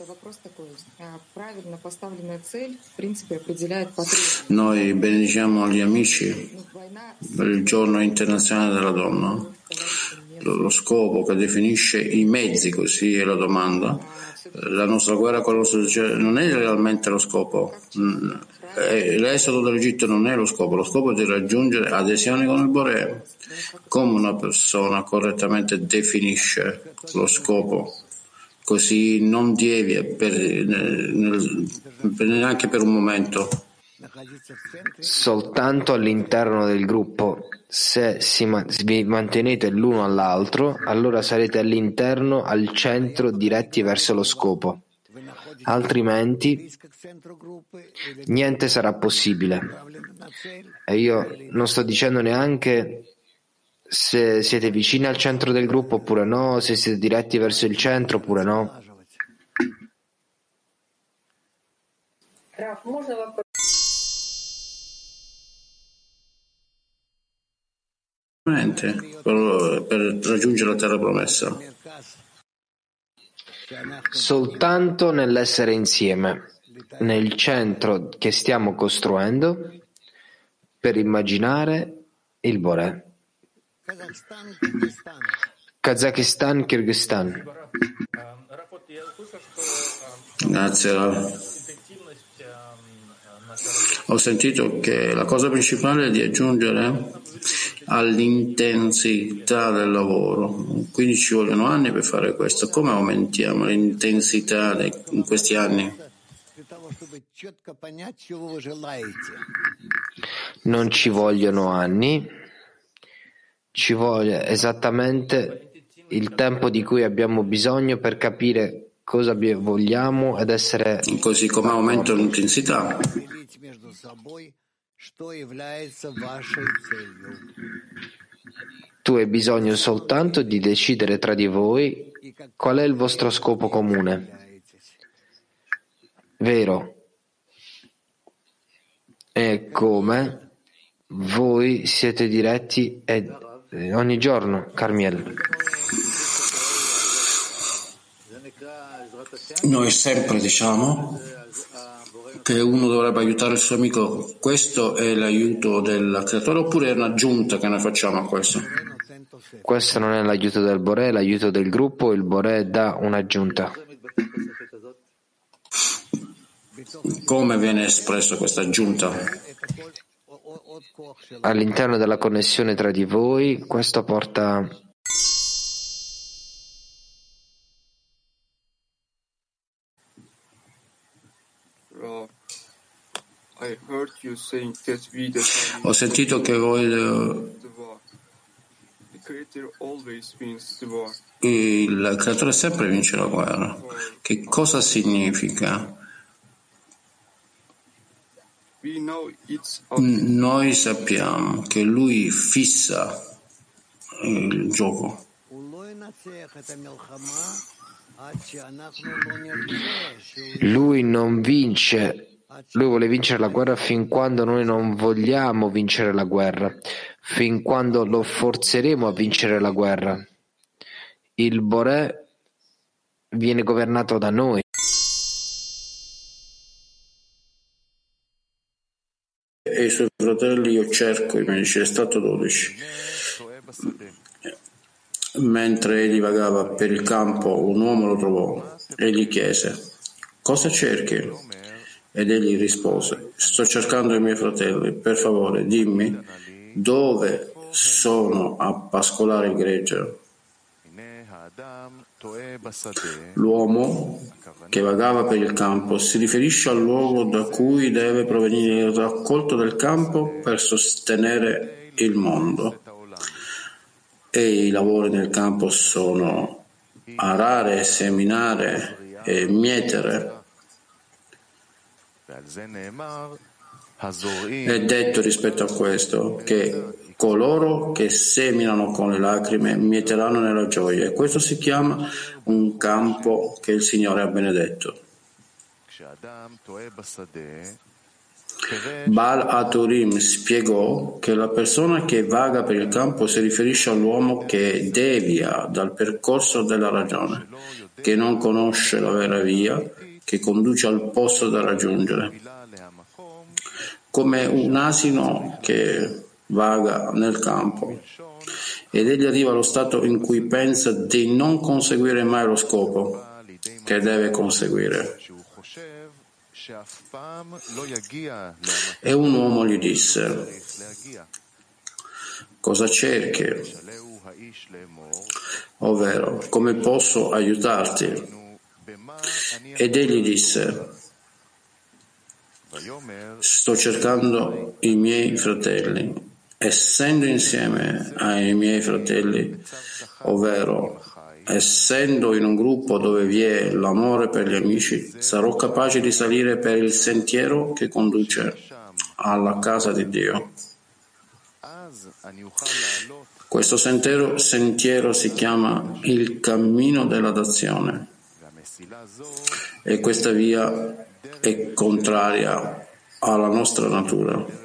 Noi benediciamo gli amici per il giorno internazionale della donna. Lo scopo che definisce i mezzi, così è la domanda. La nostra guerra con lo Stato non è realmente lo scopo. L'esodo dall'Egitto non è lo scopo, lo scopo è di raggiungere adesione con il Boré. Come una persona correttamente definisce lo scopo, così non devia per, nel, per, neanche per un momento. Soltanto all'interno del gruppo. Se si, vi mantenete l'uno all'altro, allora sarete all'interno, al centro, diretti verso lo scopo. Altrimenti niente sarà possibile. E io non sto dicendo neanche se siete vicini al centro del gruppo oppure no, se siete diretti verso il centro oppure no. Per, per raggiungere la terra promessa. Soltanto nell'essere insieme, nel centro che stiamo costruendo, per immaginare il Boré. Kazakistan, Kirghizistan. Grazie. Ho sentito che la cosa principale è di aggiungere all'intensità del lavoro, quindi ci vogliono anni per fare questo. Come aumentiamo l'intensità in questi anni? Non ci vogliono anni, ci vuole esattamente il tempo di cui abbiamo bisogno per capire cosa vogliamo ed essere così come aumento l'intensità. Tu hai bisogno soltanto di decidere tra di voi qual è il vostro scopo comune. Vero? E come voi siete diretti e ogni giorno, Carmiel. Noi sempre diciamo che uno dovrebbe aiutare il suo amico. Questo è l'aiuto del creatore oppure è un'aggiunta che noi facciamo a questo? Questo non è l'aiuto del Boré, è l'aiuto del gruppo. Il Boré dà un'aggiunta. Come viene espresso questa aggiunta? All'interno della connessione tra di voi, questo porta Ho sentito che voi il creatore sempre vince la guerra. Che cosa significa? Noi sappiamo che lui fissa il gioco. Lui non vince. Lui vuole vincere la guerra fin quando noi non vogliamo vincere la guerra, fin quando lo forzeremo a vincere la guerra. Il Boré viene governato da noi. E i suoi fratelli io cerco, mi dice, è stato dodici. Mentre egli vagava per il campo, un uomo lo trovò e gli chiese: cosa cerchi? Ed egli rispose: sto cercando i miei fratelli, per favore dimmi dove sono a pascolare il gregge. L'uomo che vagava per il campo si riferisce al luogo da cui deve provenire il raccolto del campo per sostenere il mondo. E i lavori nel campo sono arare, seminare e mietere. È detto rispetto a questo che coloro che seminano con le lacrime mieteranno nella gioia, e questo si chiama un campo che il Signore ha benedetto. Baal HaTurim spiegò che la persona che vaga per il campo si riferisce all'uomo che devia dal percorso della ragione, che non conosce la vera via che conduce al posto da raggiungere, come un asino che vaga nel campo, ed egli arriva allo stato in cui pensa di non conseguire mai lo scopo che deve conseguire. E un uomo gli disse: cosa cerchi? Ovvero, come posso aiutarti? Ed egli disse: sto cercando i miei fratelli. Essendo insieme ai miei fratelli, ovvero essendo in un gruppo dove vi è l'amore per gli amici, sarò capace di salire per il sentiero che conduce alla casa di Dio. Questo sentiero, sentiero si chiama il cammino della dazione, e questa via è contraria alla nostra natura.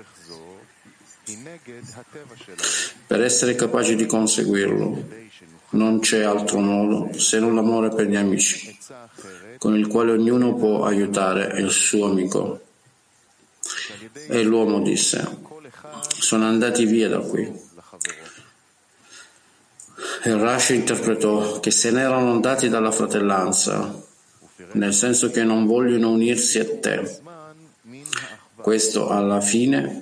Per essere capaci di conseguirlo non c'è altro modo se non l'amore per gli amici, con il quale ognuno può aiutare il suo amico. E l'uomo disse: sono andati via da qui. E Rashi interpretò che se ne erano andati dalla fratellanza, nel senso che non vogliono unirsi a te. Questo alla fine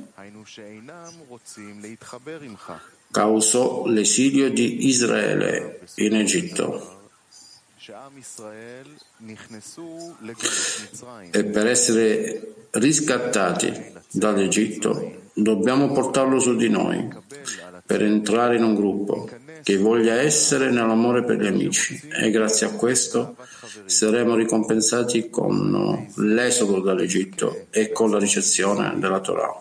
causò l'esilio di Israele in Egitto. E per essere riscattati dall'Egitto dobbiamo portarlo su di noi, per entrare in un gruppo che voglia essere nell'amore per gli amici, e grazie a questo saremo ricompensati con l'esodo dall'Egitto e con la ricezione della Torah.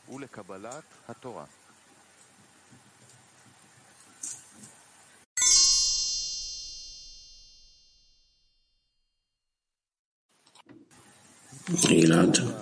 Gilad.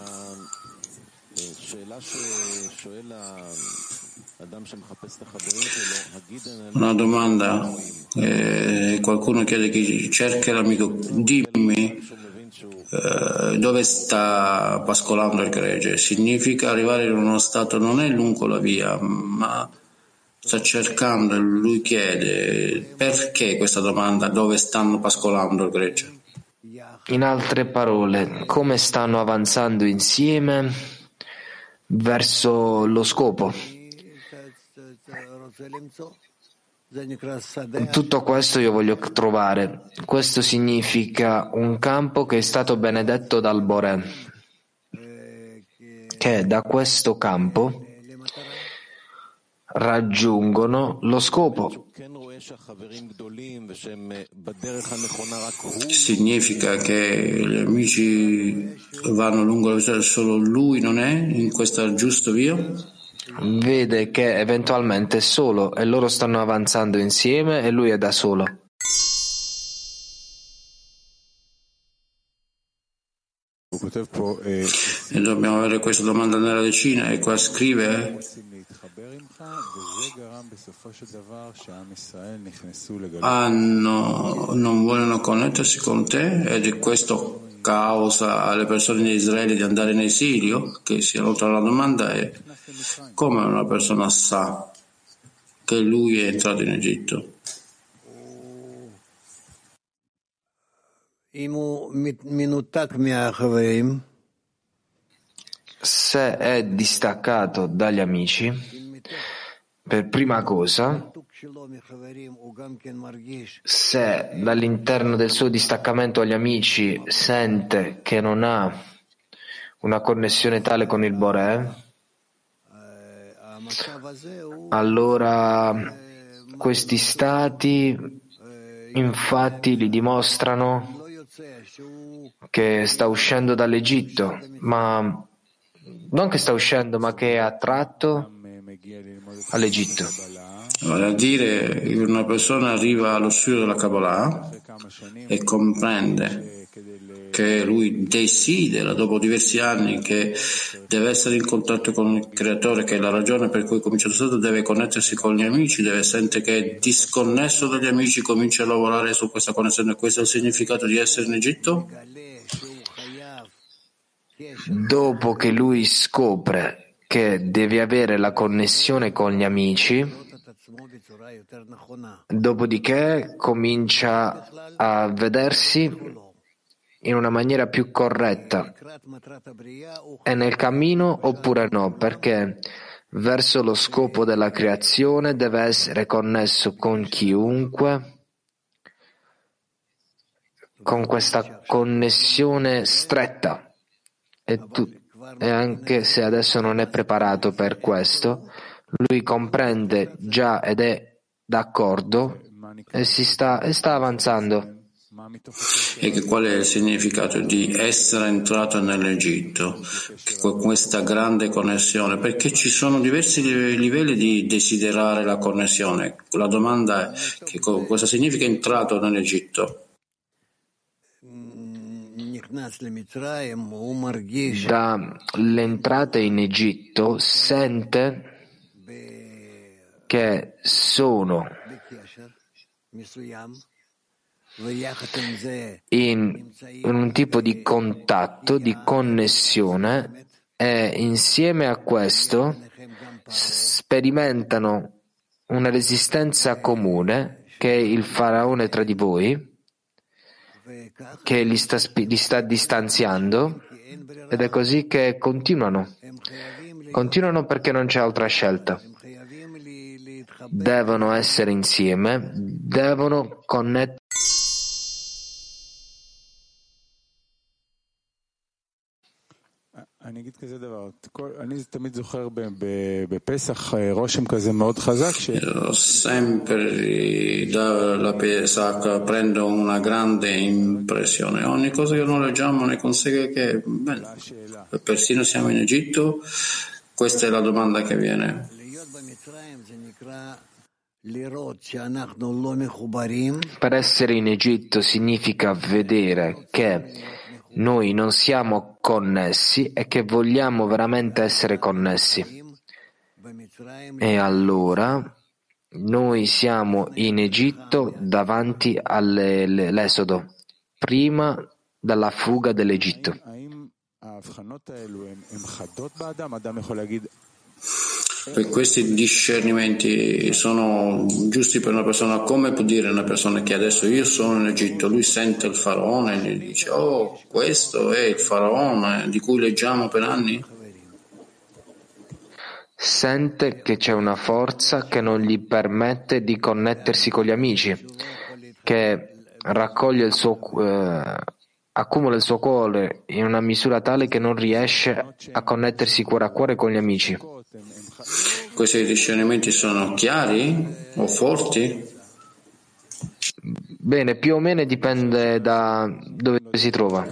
Una domanda, eh, qualcuno chiede chi cerca l'amico, dimmi eh, dove sta pascolando il gregge. Significa arrivare in uno stato, non è lungo la via, ma sta cercando, e lui chiede perché questa domanda, dove stanno pascolando il gregge. In altre parole, come stanno avanzando insieme verso lo scopo. Tutto questo io voglio trovare. Questo significa un campo che è stato benedetto dal Boré, che da questo campo raggiungono lo scopo. Significa che gli amici vanno lungo la via, solo lui non è in questa giusta via? Vede che eventualmente è solo e loro stanno avanzando insieme e lui è da solo. E dobbiamo avere questa domanda nella decina, e qua scrive hanno, non vogliono connettersi con te ed è questo causa alle persone di Israele di andare in esilio? Che si allontra la domanda è come una persona sa che lui è entrato in Egitto? Se è distaccato dagli amici, per prima cosa, se dall'interno del suo distaccamento agli amici sente che non ha una connessione tale con il Boré, allora questi stati infatti gli dimostrano che sta uscendo dall'Egitto, ma non che sta uscendo, ma che è attratto all'Egitto. Vale a dire, una persona arriva allo studio della Kabbalah e comprende che lui desidera, dopo diversi anni, che deve essere in contatto con il Creatore, che è la ragione per cui comincia lo studio, deve connettersi con gli amici, deve sentire che è disconnesso dagli amici, comincia a lavorare su questa connessione. Questo è il significato di essere in Egitto? Dopo che lui scopre che deve avere la connessione con gli amici, dopodiché comincia a vedersi in una maniera più corretta. È nel cammino oppure no? Perché verso lo scopo della creazione deve essere connesso con chiunque, con questa connessione stretta. E, tu, e anche se adesso non è preparato per questo, lui comprende già ed è d'accordo e si sta, e sta avanzando. E che qual è il significato di essere entrato nell'Egitto, con questa grande connessione? Perché ci sono diversi livelli di desiderare la connessione. La domanda è che cosa significa entrato nell'Egitto? Dall'entrata in Egitto sente che sono in, in un tipo di contatto, di connessione, e insieme a questo sperimentano una resistenza comune che è il faraone tra di voi, che li sta, li sta distanziando, ed è così che continuano. Continuano perché non c'è altra scelta. Devono essere insieme, devono connettere. Io sempre dalla Pesach prendo una grande impressione. Ogni cosa che noi leggiamo ne consegue che bene, persino siamo in Egitto. Questa è la domanda che viene. Per essere in Egitto significa vedere che noi non siamo connessi e che vogliamo veramente essere connessi. E allora noi siamo in Egitto davanti all'esodo, prima della fuga dell'Egitto. Per questi discernimenti sono giusti per una persona? Come può dire una persona che adesso io sono in Egitto, lui sente il faraone e gli dice oh, questo è il faraone di cui leggiamo per anni? Sente che c'è una forza che non gli permette di connettersi con gli amici, che raccoglie il suo eh, accumula il suo cuore in una misura tale che non riesce a connettersi cuore a cuore con gli amici. Questi discernimenti sono chiari o forti? Bene, più o meno dipende da dove si trova.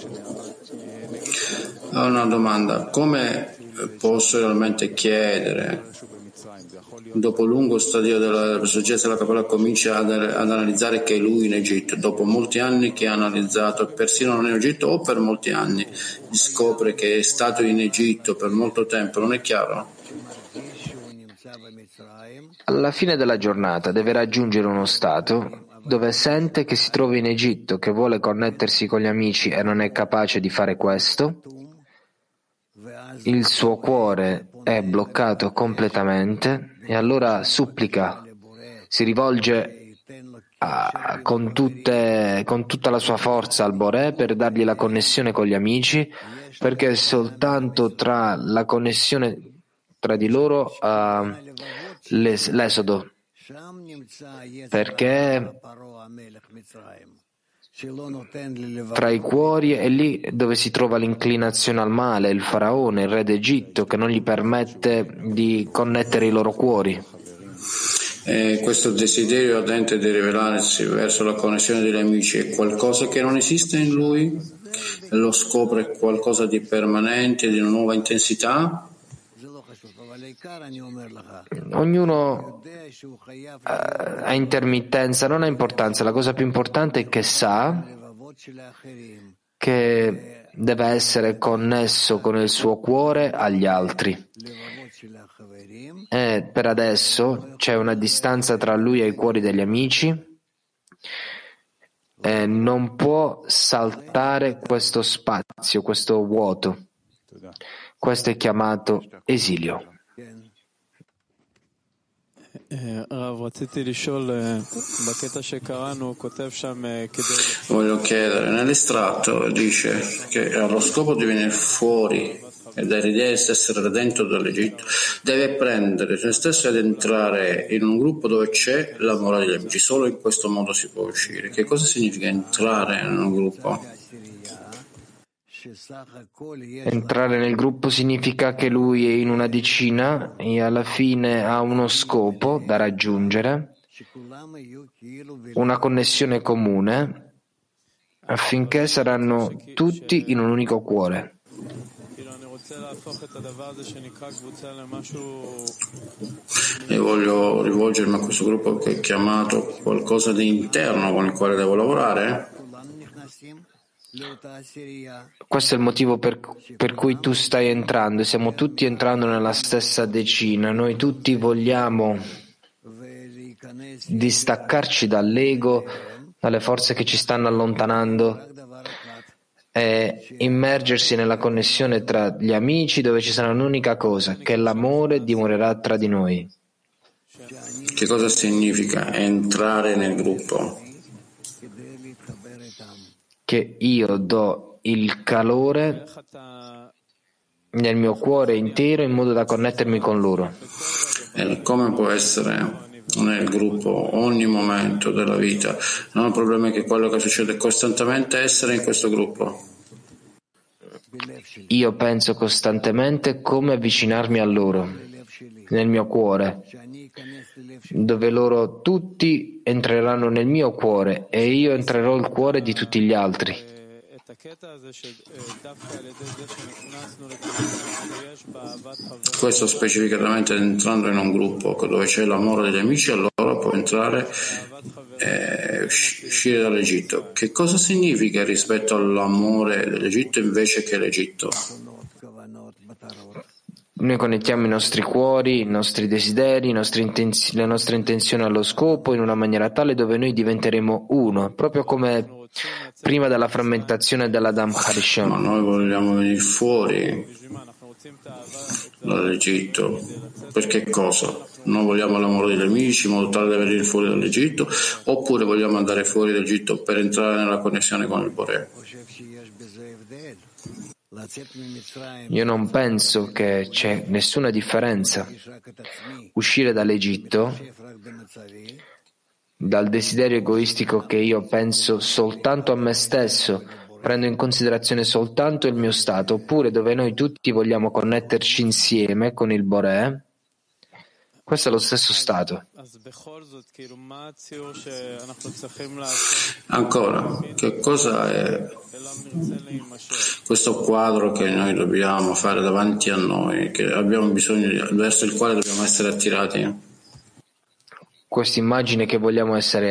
Ho una domanda. Come posso realmente chiedere, dopo un lungo stadio della saggezza della Kabbalah, comincia ad, ad analizzare che è lui in Egitto, dopo molti anni che ha analizzato, persino non in Egitto o per molti anni, scopre che è stato in Egitto per molto tempo, non è chiaro? alla fine della giornata deve raggiungere uno stato dove sente che si trova in Egitto, che vuole connettersi con gli amici e non è capace di fare questo. Il suo cuore è bloccato completamente e allora supplica, si rivolge a, con, tutte, con tutta la sua forza al Boré per dargli la connessione con gli amici, perché è soltanto tra la connessione tra di loro uh, l'es- l'esodo, perché tra i cuori è lì dove si trova l'inclinazione al male, il faraone, il re d'Egitto, che non gli permette di connettere i loro cuori. E questo desiderio ardente di rivelarsi verso la connessione degli amici è qualcosa che non esiste in lui? E lo scopre qualcosa di permanente, di una nuova intensità? Ognuno uh, ha intermittenza, non ha importanza. La cosa più importante è che sa che deve essere connesso con il suo cuore agli altri. E per adesso c'è una distanza tra lui e i cuori degli amici e non può saltare questo spazio, questo vuoto. Questo è chiamato esilio. Voglio chiedere, nell'estratto dice che allo scopo di venire fuori e dall'idea di essere redento dall'Egitto deve prendere se stesso ed entrare in un gruppo dove c'è l'amore degli amici. Solo in questo modo si può uscire. Che cosa significa entrare in un gruppo? Entrare nel gruppo significa che lui è in una decina e alla fine ha uno scopo da raggiungere, una connessione comune, affinché saranno tutti in un unico cuore. E voglio rivolgermi a questo gruppo che è chiamato qualcosa di interno con il quale devo lavorare? Questo è il motivo per, per cui tu stai entrando, stiamo tutti entrando nella stessa decina, noi tutti vogliamo distaccarci dall'ego, dalle forze che ci stanno allontanando e immergersi nella connessione tra gli amici dove ci sarà un'unica cosa, che l'amore dimorerà tra di noi. Che cosa significa entrare nel gruppo? Che io do il calore nel mio cuore intero in modo da connettermi con loro. E come può essere nel gruppo ogni momento della vita? Non il problema è che quello che succede costantemente è essere in questo gruppo. Io penso costantemente come avvicinarmi a loro, nel mio cuore, dove loro tutti entreranno nel mio cuore e io entrerò nel cuore di tutti gli altri. Questo specificatamente entrando in un gruppo dove c'è l'amore degli amici, allora può entrare e uscire dall'Egitto. Che cosa significa rispetto all'amore dell'Egitto invece che l'Egitto? Noi connettiamo i nostri cuori, i nostri desideri, i nostri intenzi- le nostre intenzioni allo scopo in una maniera tale dove noi diventeremo uno, proprio come prima della frammentazione dell'Adam Harishon. Ma noi vogliamo venire fuori dall'Egitto. Per che cosa? Noi vogliamo l'amore degli amici in modo tale da venire fuori dall'Egitto, oppure vogliamo andare fuori dall'Egitto per entrare nella connessione con il Boré? Io non penso che c'è nessuna differenza. Uscire dall'Egitto, dal desiderio egoistico che io penso soltanto a me stesso, prendo in considerazione soltanto il mio stato, oppure dove noi tutti vogliamo connetterci insieme con il Boré, questo è lo stesso stato. Ancora, che cosa è questo quadro che noi dobbiamo fare davanti a noi, che abbiamo bisogno, verso il quale dobbiamo essere attirati? Questa immagine che vogliamo essere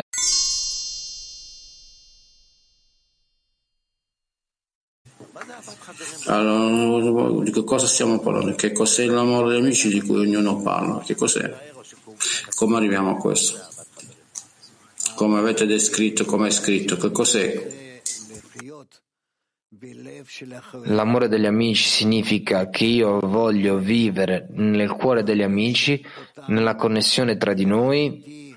allora, di che cosa stiamo parlando? Che cos'è l'amore degli amici di cui ognuno parla? Che cos'è? Come arriviamo a questo? Come avete descritto, come è scritto, che cos'è? L'amore degli amici significa che io voglio vivere nel cuore degli amici, nella connessione tra di noi,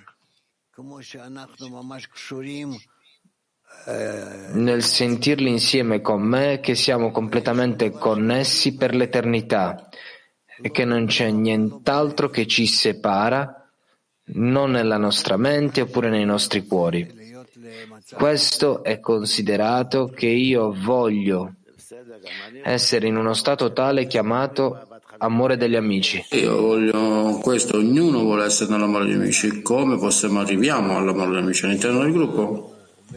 nel sentirli insieme con me, che siamo completamente connessi per l'eternità e che non c'è nient'altro che ci separa, non nella nostra mente oppure nei nostri cuori. Questo è considerato che io voglio essere in uno stato tale chiamato amore degli amici. Io voglio questo, ognuno vuole essere nell'amore degli amici. Come possiamo arriviamo all'amore degli amici all'interno del gruppo?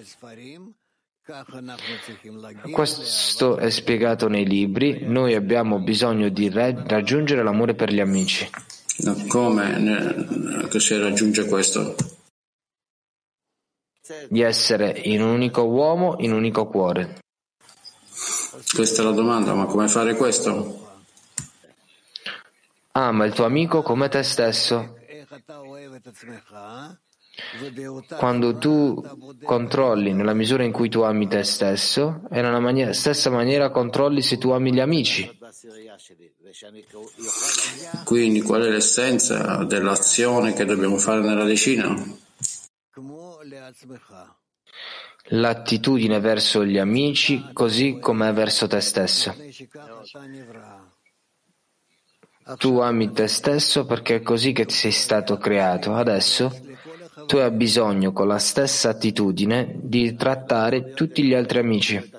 Questo è spiegato nei libri. Noi abbiamo bisogno di raggiungere l'amore per gli amici. Come che si raggiunge questo? Di essere in un unico uomo, in un unico cuore. Questa è la domanda, ma come fare questo? Ama il tuo amico come te stesso. Quando tu controlli nella misura in cui tu ami te stesso, e nella mani- stessa maniera controlli se tu ami gli amici. Quindi qual è l'essenza dell'azione che dobbiamo fare nella decina? L'attitudine verso gli amici così come verso te stesso. Tu ami te stesso perché è così che ti sei stato creato. Adesso tu hai bisogno con la stessa attitudine di trattare tutti gli altri amici.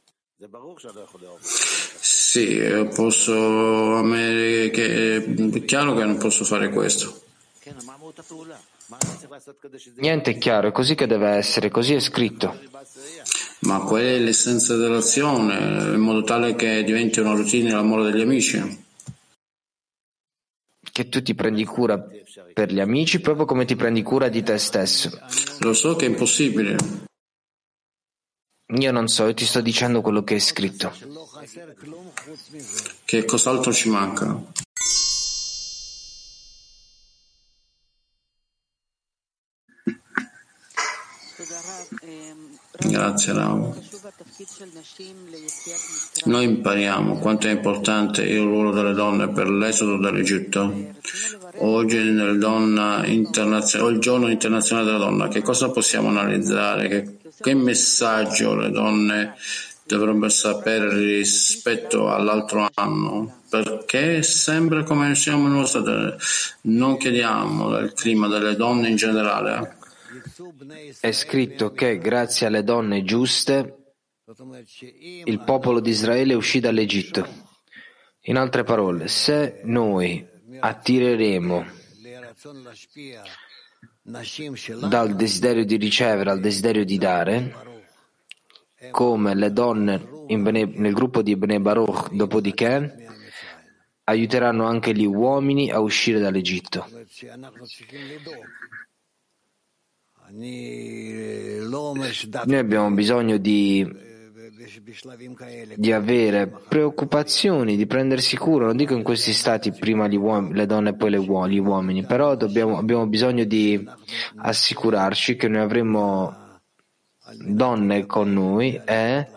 Sì, posso amare che è chiaro che non posso fare questo. Niente è chiaro, è così che deve essere, così è scritto. Ma qual è l'essenza dell'azione, in modo tale che diventi una routine l'amore degli amici? Che tu ti prendi cura per gli amici proprio come ti prendi cura di te stesso. Lo so che è impossibile. Io non so, io ti sto dicendo quello che è scritto. Che cos'altro ci manca? Grazie Rav. Noi impariamo quanto è importante il ruolo delle donne per l'esodo dall'Egitto. Oggi nel donna internazionale, il giorno internazionale della donna, che cosa possiamo analizzare? Che, che messaggio le donne dovrebbero sapere rispetto all'altro anno? Perché sembra come siamo in uno stato, non chiediamo del clima delle donne in generale. È scritto che grazie alle donne giuste il popolo di Israele uscì dall'Egitto. In altre parole, se noi attireremo dal desiderio di ricevere al desiderio di dare, come le donne in Bene, nel gruppo di Bnei Baruch, dopodiché aiuteranno anche gli uomini a uscire dall'Egitto. Noi abbiamo bisogno di, di avere preoccupazioni, di prendersi cura, non dico in questi stati prima gli uom- le donne e poi le uom- gli uomini, però dobbiamo, abbiamo bisogno di assicurarci che noi avremo donne con noi e,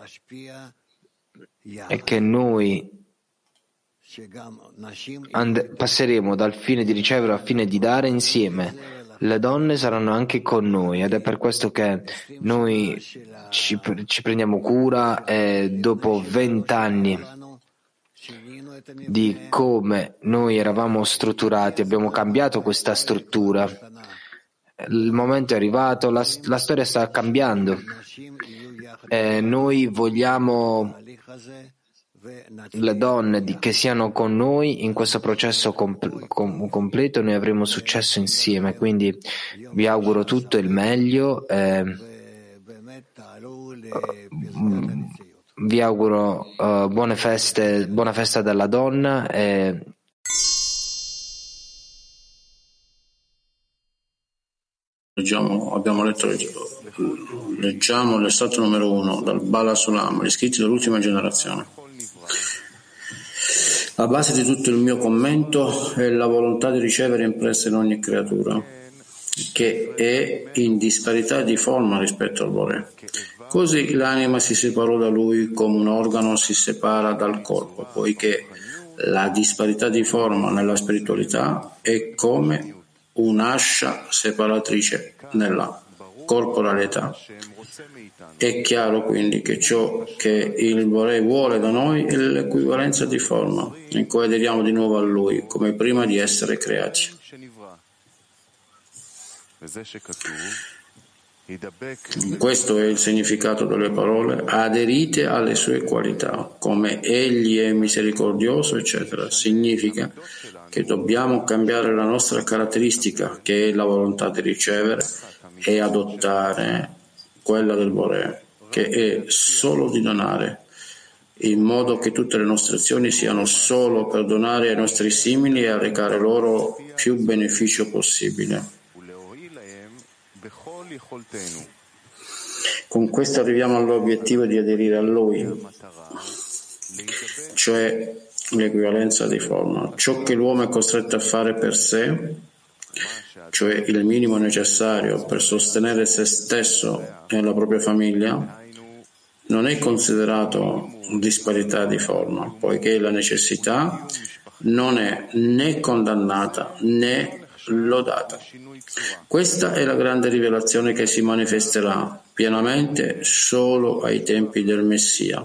e che noi and- passeremo dal fine di ricevere al fine di dare insieme. Le donne saranno anche con noi ed è per questo che noi ci, ci prendiamo cura e dopo vent'anni di come noi eravamo strutturati abbiamo cambiato questa struttura. Il momento è arrivato, la, la storia sta cambiando e noi vogliamo le donne di, che siano con noi in questo processo comp- com- completo. Noi avremo successo insieme, quindi vi auguro tutto il meglio e, uh, vi auguro uh, buone feste, buona festa della donna e Leggiamo, abbiamo letto, leggiamo l'estratto numero uno dal Bala Sulam, gli scritti dell'ultima generazione. La base di tutto il mio commento è la volontà di ricevere impressa in ogni creatura, che è in disparità di forma rispetto al Bore. Così l'anima si separò da lui come un organo si separa dal corpo, poiché la disparità di forma nella spiritualità è come un'ascia separatrice nella corporalità. È chiaro quindi che ciò che il Bore vuole da noi è l'equivalenza di forma, in cui aderiamo di nuovo a Lui, come prima di essere creati. Questo è il significato delle parole: aderite alle sue qualità, come Egli è misericordioso, eccetera. Significa che dobbiamo cambiare la nostra caratteristica, che è la volontà di ricevere, e adottare quella del Bore, che è solo di donare, in modo che tutte le nostre azioni siano solo per donare ai nostri simili e recare loro più beneficio possibile. Con questo arriviamo all'obiettivo di aderire a Lui, cioè l'equivalenza di forma. Ciò che l'uomo è costretto a fare per sé, cioè il minimo necessario per sostenere se stesso e la propria famiglia, non è considerato disparità di forma, poiché la necessità non è né condannata né lodata. Questa è la grande rivelazione che si manifesterà pienamente solo ai tempi del Messia,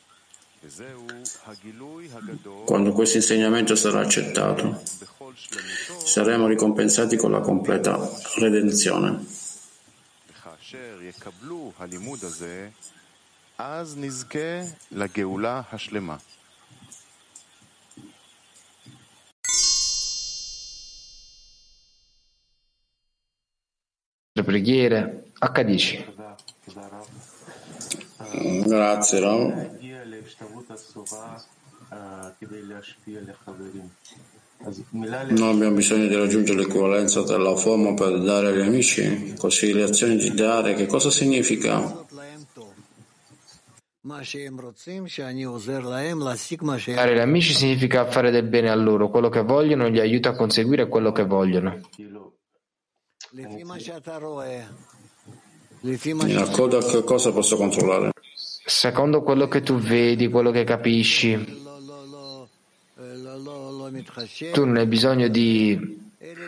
quando questo insegnamento sarà accettato. Saremo ricompensati con la completa redenzione. Le preghiere accadici. Grazie, Rav. Noi abbiamo bisogno di raggiungere l'equivalenza della forma per dare agli amici, così le azioni di dare, che cosa significa? Dare agli amici significa fare del bene a loro, quello che vogliono gli aiuta a conseguire quello che vogliono. In accordo a che cosa posso controllare? Secondo quello che tu vedi, quello che capisci. Tu non hai bisogno di,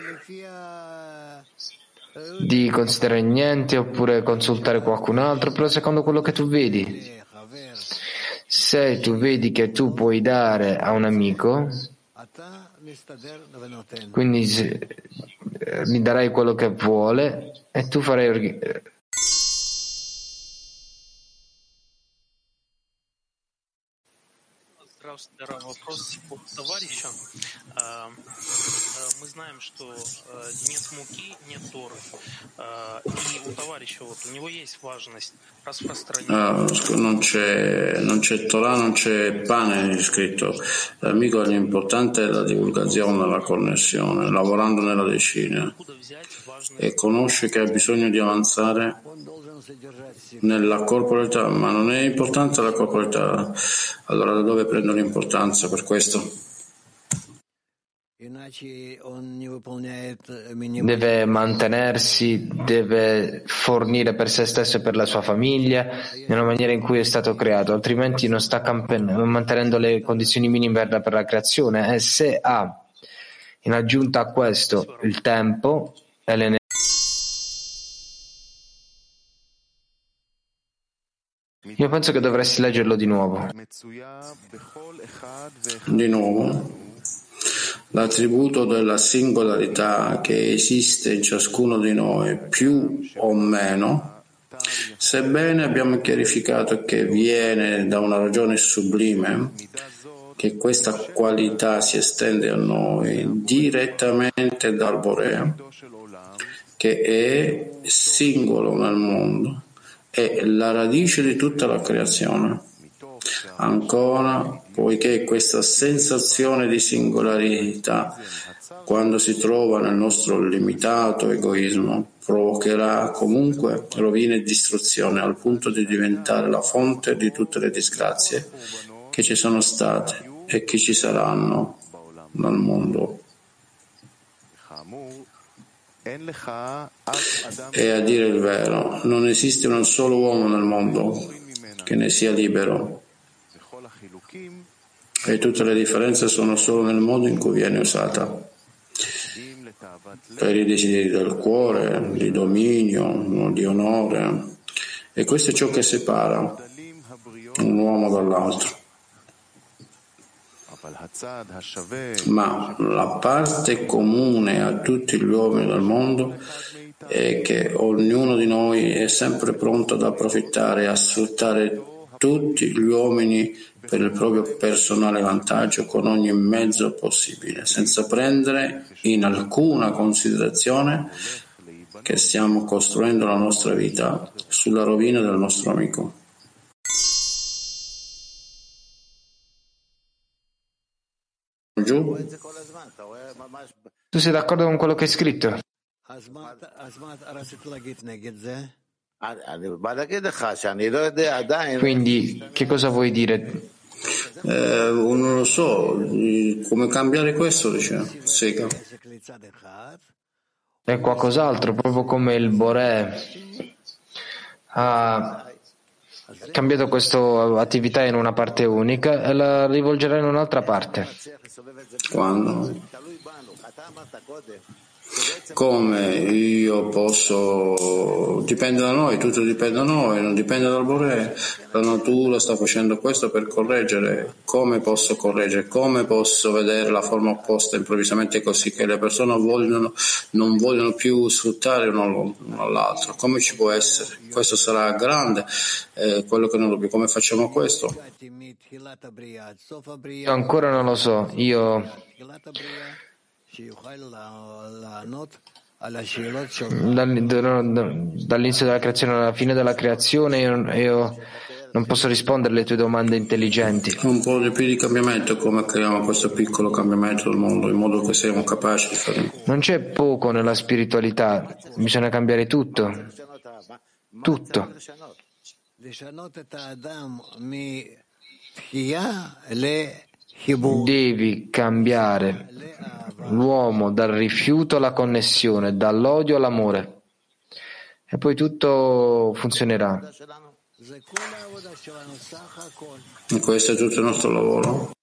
di considerare niente oppure consultare qualcun altro, però secondo quello che tu vedi. Se tu vedi che tu puoi dare a un amico, quindi gli darai quello che vuole e tu farai Вопрос от товарища. Мы знаем, что нет муки, нет Торы. И у товарища вот у него есть важность распространения. Non c'è, non c'è Torah, non c'è pane scritto. L'amico l'importante è la divulgazione, la connessione, lavorando nella decina. E conosce che ha bisogno di avanzare nella corporalità, ma non è importante la corporalità. Allora da dove prendo l'importanza per questo? Deve mantenersi, deve fornire per se stesso e per la sua famiglia nella maniera in cui è stato creato, altrimenti non sta campen- mantenendo le condizioni minime per la creazione. E se ha in aggiunta a questo il tempo e l'energia, io penso che dovresti leggerlo di nuovo. Di nuovo. L'attributo della singolarità che esiste in ciascuno di noi, più o meno, sebbene abbiamo chiarificato che viene da una ragione sublime, che questa qualità si estende a noi direttamente dal Bore, che è singolo nel mondo, è la radice di tutta la creazione. Ancora, poiché questa sensazione di singolarità, quando si trova nel nostro limitato egoismo, provocherà comunque rovina e distruzione al punto di diventare la fonte di tutte le disgrazie che ci sono state e chi ci saranno nel mondo. E a dire il vero, non esiste un solo uomo nel mondo che ne sia libero, e tutte le differenze sono solo nel modo in cui viene usata, per i desideri del cuore, di dominio, di onore, e questo è ciò che separa un uomo dall'altro. Ma la parte comune a tutti gli uomini del mondo è che ognuno di noi è sempre pronto ad approfittare e a sfruttare tutti gli uomini per il proprio personale vantaggio con ogni mezzo possibile, senza prendere in alcuna considerazione che stiamo costruendo la nostra vita sulla rovina del nostro amico. Giù? Tu sei d'accordo con quello che è scritto? Quindi, che cosa vuoi dire? Eh, non lo so, come cambiare questo, dice Sega. È qualcos'altro, proprio come il Boré ha cambiato questa attività in una parte unica e la rivolgerà in un'altra parte. Quando? Come io posso? Dipende da noi, tutto dipende da noi, non dipende dal Boré. La natura sta facendo questo per correggere. Come posso correggere? Come posso vedere la forma opposta improvvisamente così che le persone vogliono, non vogliono più sfruttare uno all'altro? Come ci può essere? Questo sarà grande, eh, quello che non dobbiamo. Come facciamo questo? Io ancora non lo so. Io dall'inizio della creazione alla fine della creazione io, io non posso rispondere alle tue domande intelligenti. Un po' di più di cambiamento, come creiamo questo piccolo cambiamento del mondo in modo che siamo capaci di fare. Non c'è poco nella spiritualità, bisogna cambiare tutto, tutto. Devi cambiare l'uomo dal rifiuto alla connessione, dall'odio all'amore, e poi tutto funzionerà. E questo è tutto il nostro lavoro.